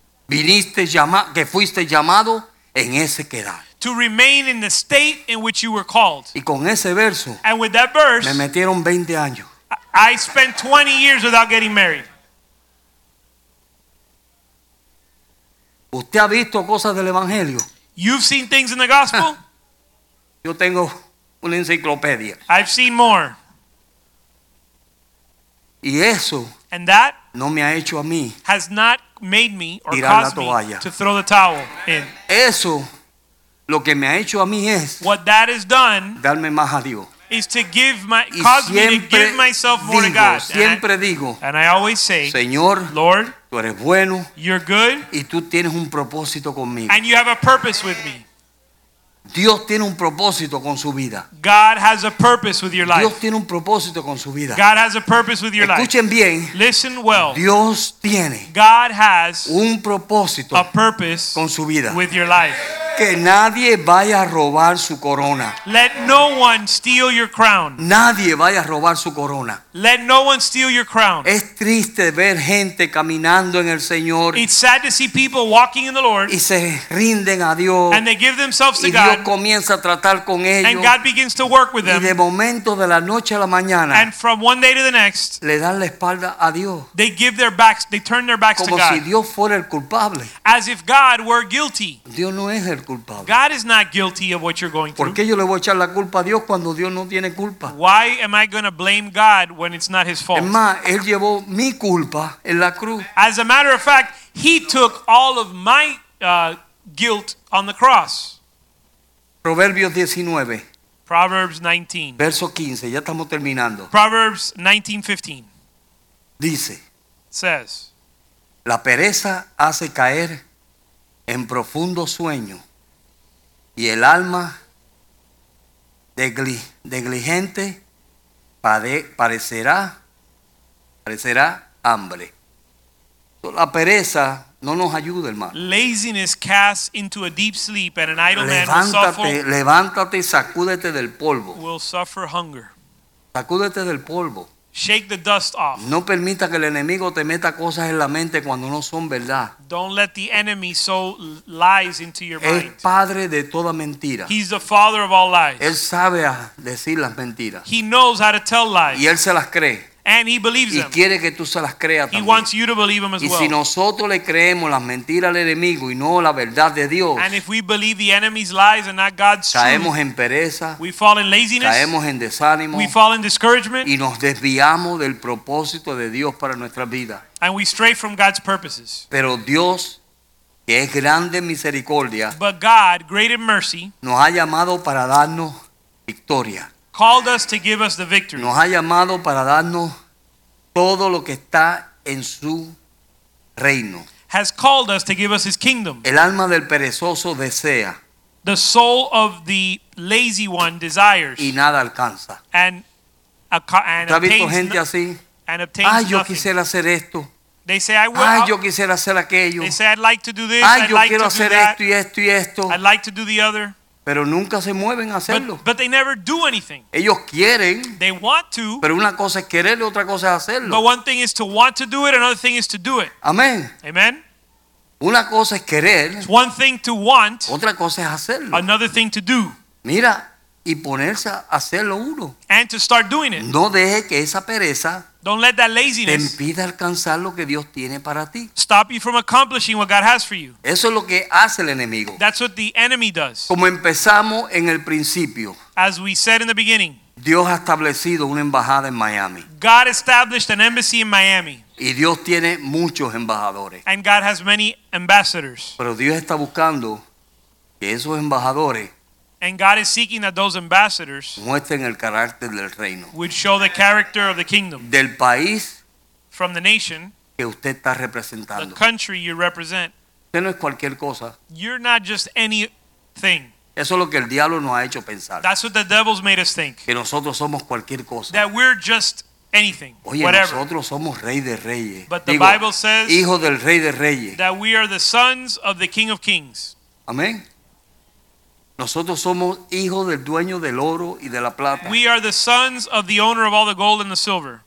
llamado, en ese quedar. to remain in the state in which you were called. Y con ese verso And with that me verse, metieron 20 años. I spent 20 years without getting married. ¿Usted ha visto cosas del evangelio? You've seen things in the gospel? Yo tengo una enciclopedia. I've seen more. Y eso And that no me ha hecho a mí. has not made me or Tirar la caused me toalla. to throw the towel in. Eso lo que me ha hecho a mí es What that has done darme más a Dios. is to Y cause me to siempre give myself more to digo, God. siempre digo, And I always say, Señor, Lord, tú eres bueno you're good y tú tienes un propósito conmigo. and you have a purpose with me. Dios tiene un propósito con su vida. God has a purpose with your Dios life. tiene un propósito con su vida. God has a purpose with your life. Escuchen bien, Listen well. Dios tiene God has un propósito a purpose con su vida. with your life. Que nadie vaya a robar su corona. Let no one steal your crown. Nadie vaya a robar su corona. Let no one steal your crown. Es triste ver gente caminando en el Señor It's sad to see people walking in the Lord y se rinden a Dios and they give themselves to y Dios God comienza a tratar con ellos and God begins to work with y them, de momento de la noche a la mañana and from one day to the next le dan la espalda a Dios they turn their backs to como si God Dios fuera el culpable. as if God were guilty. Dios no es el culpable. God is not guilty of what you're going ¿Por through. qué yo le voy a echar la culpa a Dios cuando Dios no tiene culpa? Why am I going to blame God when it's not his Es fault? más, Él llevó mi culpa en la cruz. As a matter of fact, he took all of my guilt on the cross. Proverbios 19, Proverbs 19. verso 15, ya estamos terminando. Proverbs 19:15 Dice, says, la pereza hace caer en profundo sueño y el alma negligente parecerá hambre. La pereza no nos ayuda, hermano. Laziness casts into a deep sleep, and an idle man will Levántate y sacúdete del polvo. suffer hunger. Sacúdete del polvo. Shake the dust off. No permita que el enemigo te meta cosas en la mente cuando no son verdad. Don't let the enemy sow lies into your Es mind. padre de toda mentira. He's the father of all lies. Él sabe decir las mentiras. He knows how to tell lies, Y él se las cree. and he believes Y them. quiere que tú se las creas He también. wants you to believe them as Y si well. nosotros le creemos las mentiras al enemigo y no la verdad de Dios, And if we believe the enemy's lies and not God's caemos truth, en pereza, we fall in laziness, caemos en desánimo we fall in discouragement, y nos desviamos del propósito de Dios para nuestras vidas. and we stray from God's purposes. Pero Dios, que es grande en misericordia, But God, great in mercy, nos ha llamado para darnos victoria. called us to give us the victory. Nos ha llamado para darnos todo lo que está en su reino. Has called us to give us his kingdom. El alma del perezoso desea The soul of the lazy one desires y nada alcanza. and ¿Usted ha visto obtains, gente así? and obtains Ay, yo nothing. quisiera hacer esto. They say, I will. Ay, yo quisiera hacer aquello. They say, I'd like to do this. Ay, I'd yo like quiero to do hacer that. esto y esto y esto. I'd like to do the other. Pero nunca se mueven a hacerlo. But they never do anything. Ellos quieren, They want to, pero una cosa es querer y otra cosa es but hacerlo. one thing is to want to do it, another thing is to do it. Amén. Amen? Una cosa es querer, It's one thing to want, otra cosa es hacerlo. another thing to do, Mira, y ponerse a hacerlo uno. and to start doing it. No deje que esa pereza Don't let that te laziness impida alcanzar lo que Dios tiene para ti. stop you from accomplishing what God has for you. Eso es lo que hace el enemigo. That's what the enemy does. Como empezamos en el principio, As we said in the beginning, Dios ha establecido una embajada en Miami. God established an embassy in Miami, Y Dios tiene muchos embajadores. and God has many ambassadors. Pero Dios está buscando que esos embajadores And God is seeking that those ambassadors muestren el carácter del reino. would show the character of the kingdom Del país from the nation, que usted está the representando. country you represent. Usted no es cualquier cosa. You're not just anything. Eso es lo que el diablo nos ha hecho pensar. That's what the devil's made us think. Que nosotros somos cualquier cosa. That we're just anything, Oye, whatever. nosotros somos rey de reyes. But the Bible says hijo del rey de reyes. that we are the sons of the King of Kings. Amén. Nosotros somos hijos del dueño del oro y de la plata. We are the sons of the owner of all the gold and the silver.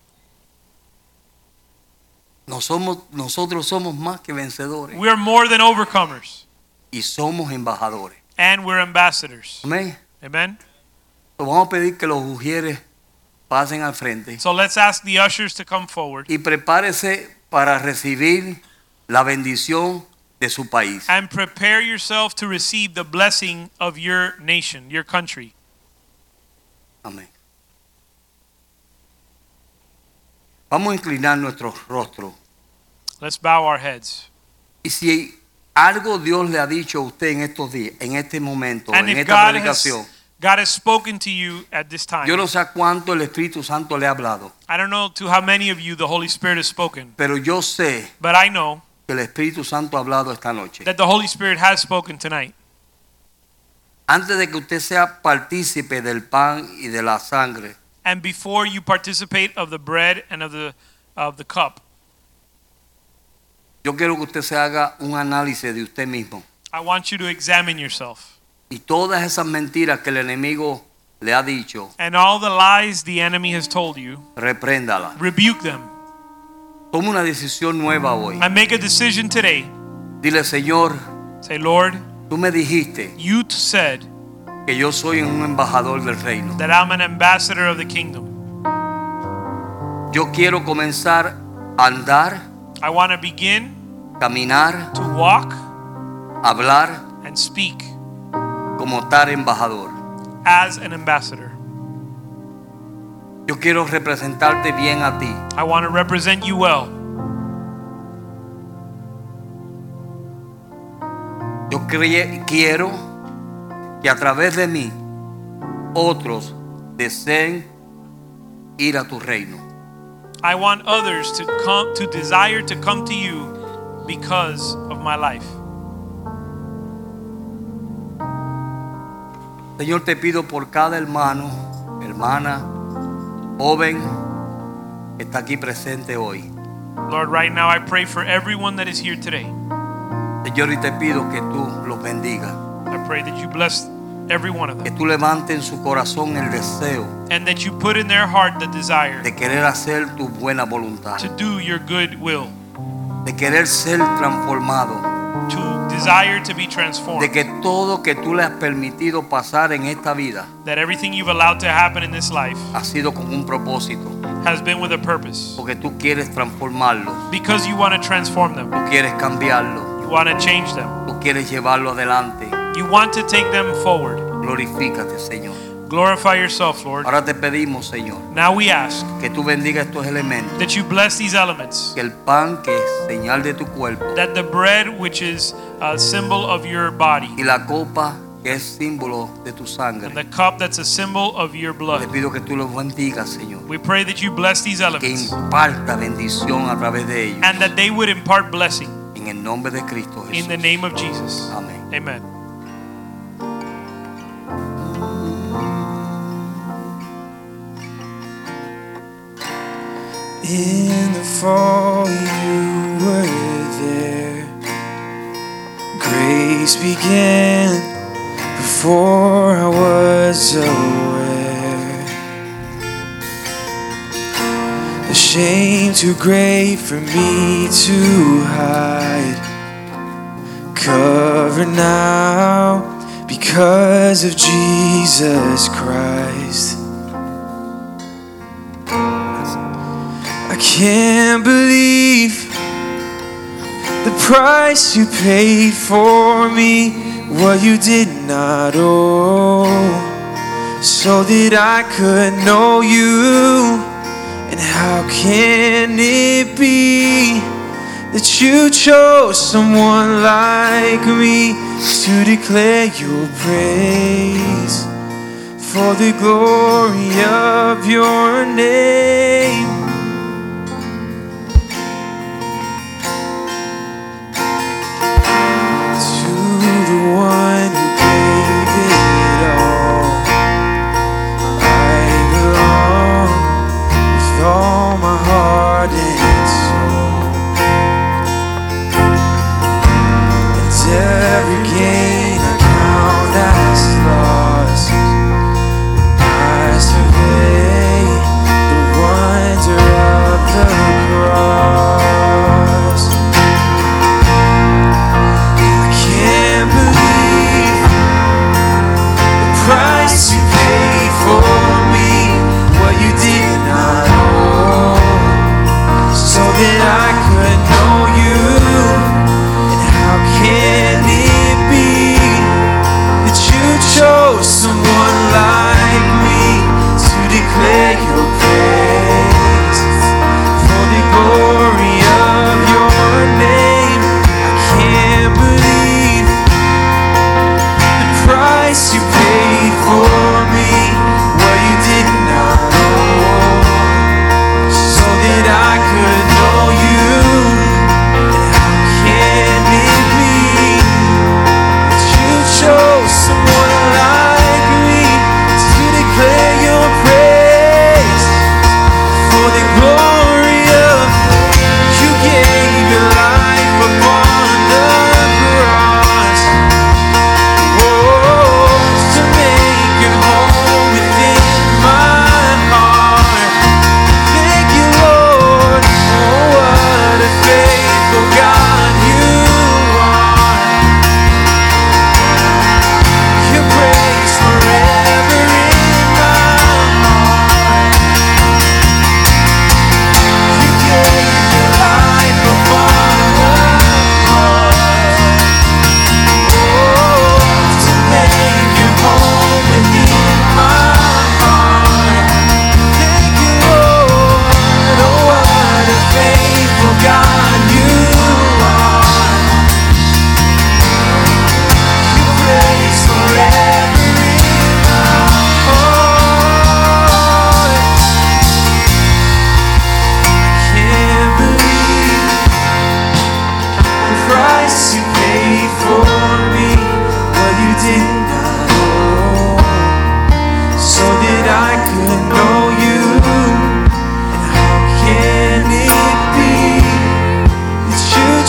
Nosotros somos más que vencedores. We are more than overcomers, Y somos embajadores. and we're ambassadors. Amén. Amen. Pues vamos a pedir que los ujieres pasen al frente. So let's ask the ushers to come forward Y prepárese para recibir la bendición de su país. and prepare yourself to receive the blessing of your nation, your country. Amén. Vamos a inclinar nuestros rostros. Let's bow our heads. Y si algo Dios le ha dicho a usted en estos días, en este momento, And en if esta predicación, God has spoken to you at this time, yo no sé a cuánto el Espíritu Santo le ha hablado, I don't know to how many of you the Holy Spirit has spoken, pero yo sé but I know que el Espíritu Santo ha hablado esta noche. that the Holy Spirit has spoken tonight. Antes de que usted sea partícipe del pan y de la sangre, And before you participate of the bread and of the cup, yo quiero que usted se haga un análisis de usted mismo. I want you to examine yourself. Y todas esas mentiras que el enemigo le ha dicho, And all the lies the enemy has told you, repréndala. rebuke them. Toma una decisión nueva hoy. And make a decision today. Dile, Señor, Say, Lord, tú me dijiste you said que yo soy un embajador del reino. that I'm an ambassador of the kingdom. Yo quiero comenzar a andar, I want to begin caminar, to walk hablar and speak como tal embajador. as an ambassador. Yo quiero representarte bien a ti. I want to represent you well. Yo quiero que a través de mí otros deseen ir a tu reino. I want others to come to desire to come to you because of my life. Señor, te pido por cada hermano, hermana, joven que está aquí presente hoy. Lord, right now I pray for everyone that is here today. Señor, y te pido que tú los bendigas. I pray that you bless every one of Que them. tú levantes en su corazón el deseo And that you put in their heart the desire de querer hacer tu buena voluntad. to do your good will, De querer ser transformado. to desire to be De transformed. que todo que tú le has permitido pasar en esta vida That everything you've allowed to happen in this life ha sido con un propósito. has been with a purpose. Porque tú quieres transformarlo. Because you want to transform them. Tú quieres cambiarlo. You want to change them. Tú quieres llevarlo adelante. You want to take them forward. Glorifícate, Señor. Glorify yourself, Lord. Ahora te pedimos, Señor, Now we ask que tú bendigas estos elementos. that you bless these elements. Que el pan, que es señal de tu cuerpo, That the bread, which is a symbol of your body, y la copa, que es símbolo de tu and sangre, the cup that's a symbol of your te blood. pido que tú los bendigas, Señor. We pray that you bless these Que elements imparta bendición a través de ellos. and that they would impart blessing En el nombre de Cristo in the Jesús. name of Jesus. Amén. Amen. In the fall you were there. Grace began before I was aware. The shame too great for me to hide. Covered now because of Jesus Christ. I can't believe the price you paid for me, what you did not owe, so that I could know you. And how can it be that you chose someone like me to declare your praise for the glory of your name? One who gave it all, I belong with all my heart and soul, and every gain I count as loss. I survey the wonder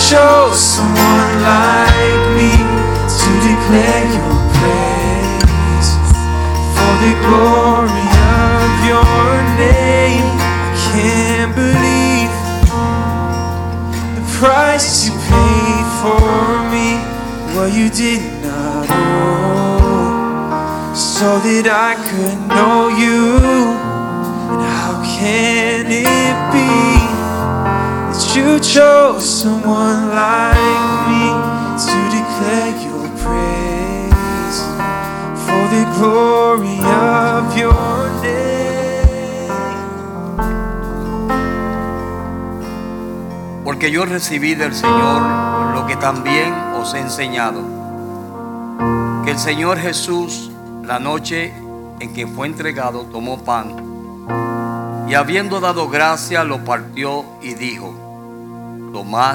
chose someone like me to declare your praise for the glory of your name. I can't believe the price you paid for me, what you did not owe, so that I could know you. And how can it be that you chose someone like me to declare your praise for the glory of your name? Porque yo recibí del Señor lo que también os he enseñado, que el Señor Jesús, la noche en que fue entregado, tomó pan y habiendo dado gracia lo partió y dijo: tomad,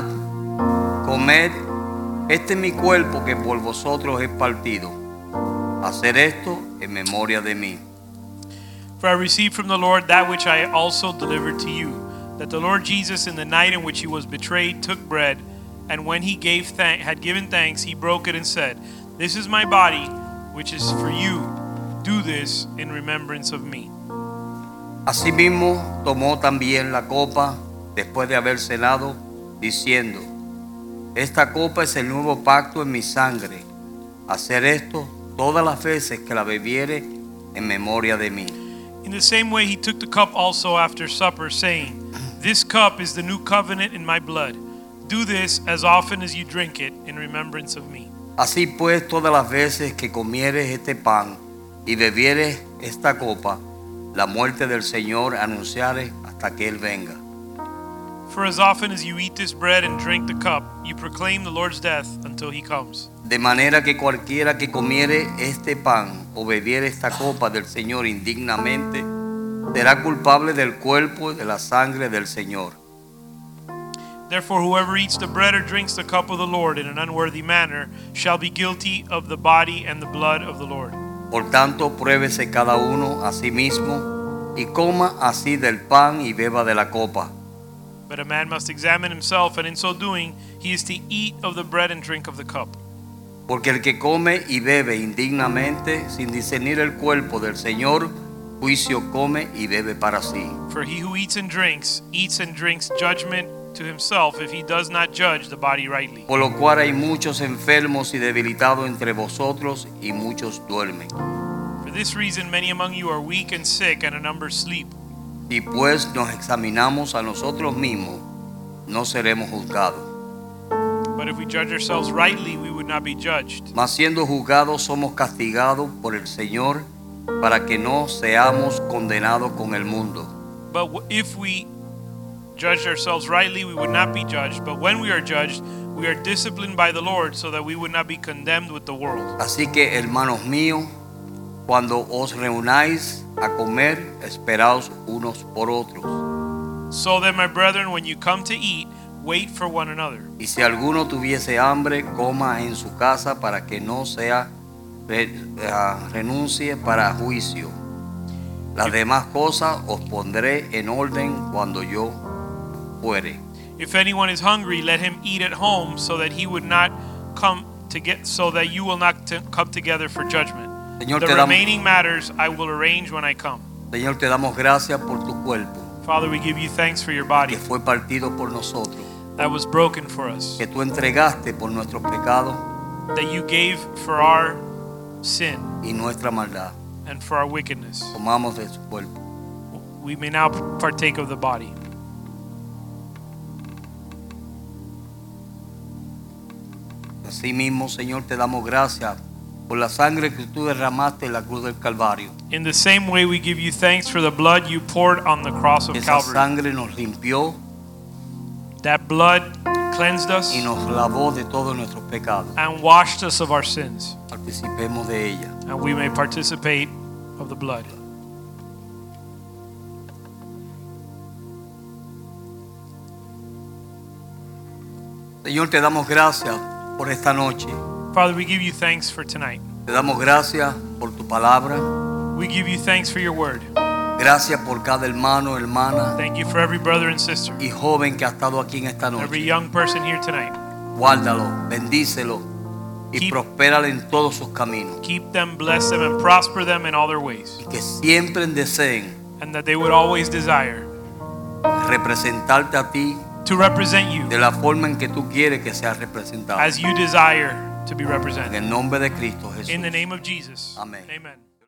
comed, este es mi cuerpo que por vosotros es partido. Hacer esto en memoria de mí. For I received from the Lord that which I also delivered to you, that the Lord Jesus, in the night in which he was betrayed, took bread, and when he had given thanks, he broke it and said, "This is my body, which is for you. Do this in remembrance of me." Asimismo tomó también la copa después de haber cenado, diciendo: esta copa es el nuevo pacto en mi sangre. Hacer esto todas las veces que la bebiere en memoria de mí. In the same way he took the cup also after supper, saying, "This cup is the new covenant in my blood. Do this as often as you drink it in remembrance of me." Así pues, todas las veces que comieres este pan y bebieres esta copa, la muerte del Señor anunciares hasta que Él venga. For as often as you eat this bread and drink the cup, you proclaim the Lord's death until he comes. De manera que cualquiera que comiere este pan o bebiere esta copa del Señor indignamente, será culpable del cuerpo y de la sangre del Señor. Therefore, whoever eats the bread or drinks the cup of the Lord in an unworthy manner shall be guilty of the body and the blood of the Lord. Por tanto, pruébese cada uno a sí mismo y coma así del pan y beba de la copa. But a man must examine himself, and in so doing, he is to eat of the bread and drink of the cup. Porque el que come y bebe indignamente, sin discernir el cuerpo del Señor, juicio come y bebe para sí. For he who eats and drinks judgment to himself if he does not judge the body rightly. Por lo cual hay muchos enfermos y debilitados entre vosotros y muchos duermen. For this reason many among you are weak and sick, and a number sleep. Si pues nos examinamos a nosotros mismos, no seremos juzgados. But if we judge ourselves rightly, we would not be judged. Mas siendo juzgados somos castigados por el Señor, para que no seamos condenados con el mundo. But if we judged ourselves rightly, we would not be judged. But when we are judged, we are disciplined by the Lord, so that we would not be condemned with the world. Así que, hermanos míos, cuando os reunáis a comer, esperaos unos por otros. So then, my brethren, when you come to eat, wait for one another. Y si alguno tuviese hambre, coma en su casa, para que no sea renuncie para juicio. Las demás cosas os pondré en orden cuando yo fuere. If anyone is hungry, let him eat at home, so that he would not come to get, so that you will not come together for judgment. Señor, The remaining matters I will arrange when I come. Señor, te damos gracias por tu cuerpo, Father, we give you thanks for your que body fue partido por nosotros, that was broken for us, que tú entregaste por nuestros pecados that you gave for our sin y nuestra maldad. and for our wickedness. Tomamos de su cuerpo. We may now partake of the body. Así mismo, Señor, te damos gracias por la sangre que tú derramaste en la cruz del Calvario. In the same way, we give you thanks for the blood you poured on the cross of Esa Calvary. sangre nos limpió That blood cleansed us y nos lavó de todos nuestros pecados. and washed us of our sins, Participemos de ella. and we may participate of the blood. Señor, te damos gracias por esta noche. Father, we give you thanks for tonight. Te damos gracias por tu palabra. We give you thanks for your word. Gracias por cada hermano, hermana Thank you for every brother and sister, y joven que ha estado aquí en esta every noche. young person here tonight. guárdalo, bendícelo y Keep- prospéralo en todos sus caminos. Keep them, bless them, and prosper them in all their ways. Y que siempre deseen And that they would always desire representarte a ti to represent you de la forma en que tú quieres que sea representado. as you desire to be En represented. el nombre de Cristo Jesús. In the name of Jesus. Amén. Amen.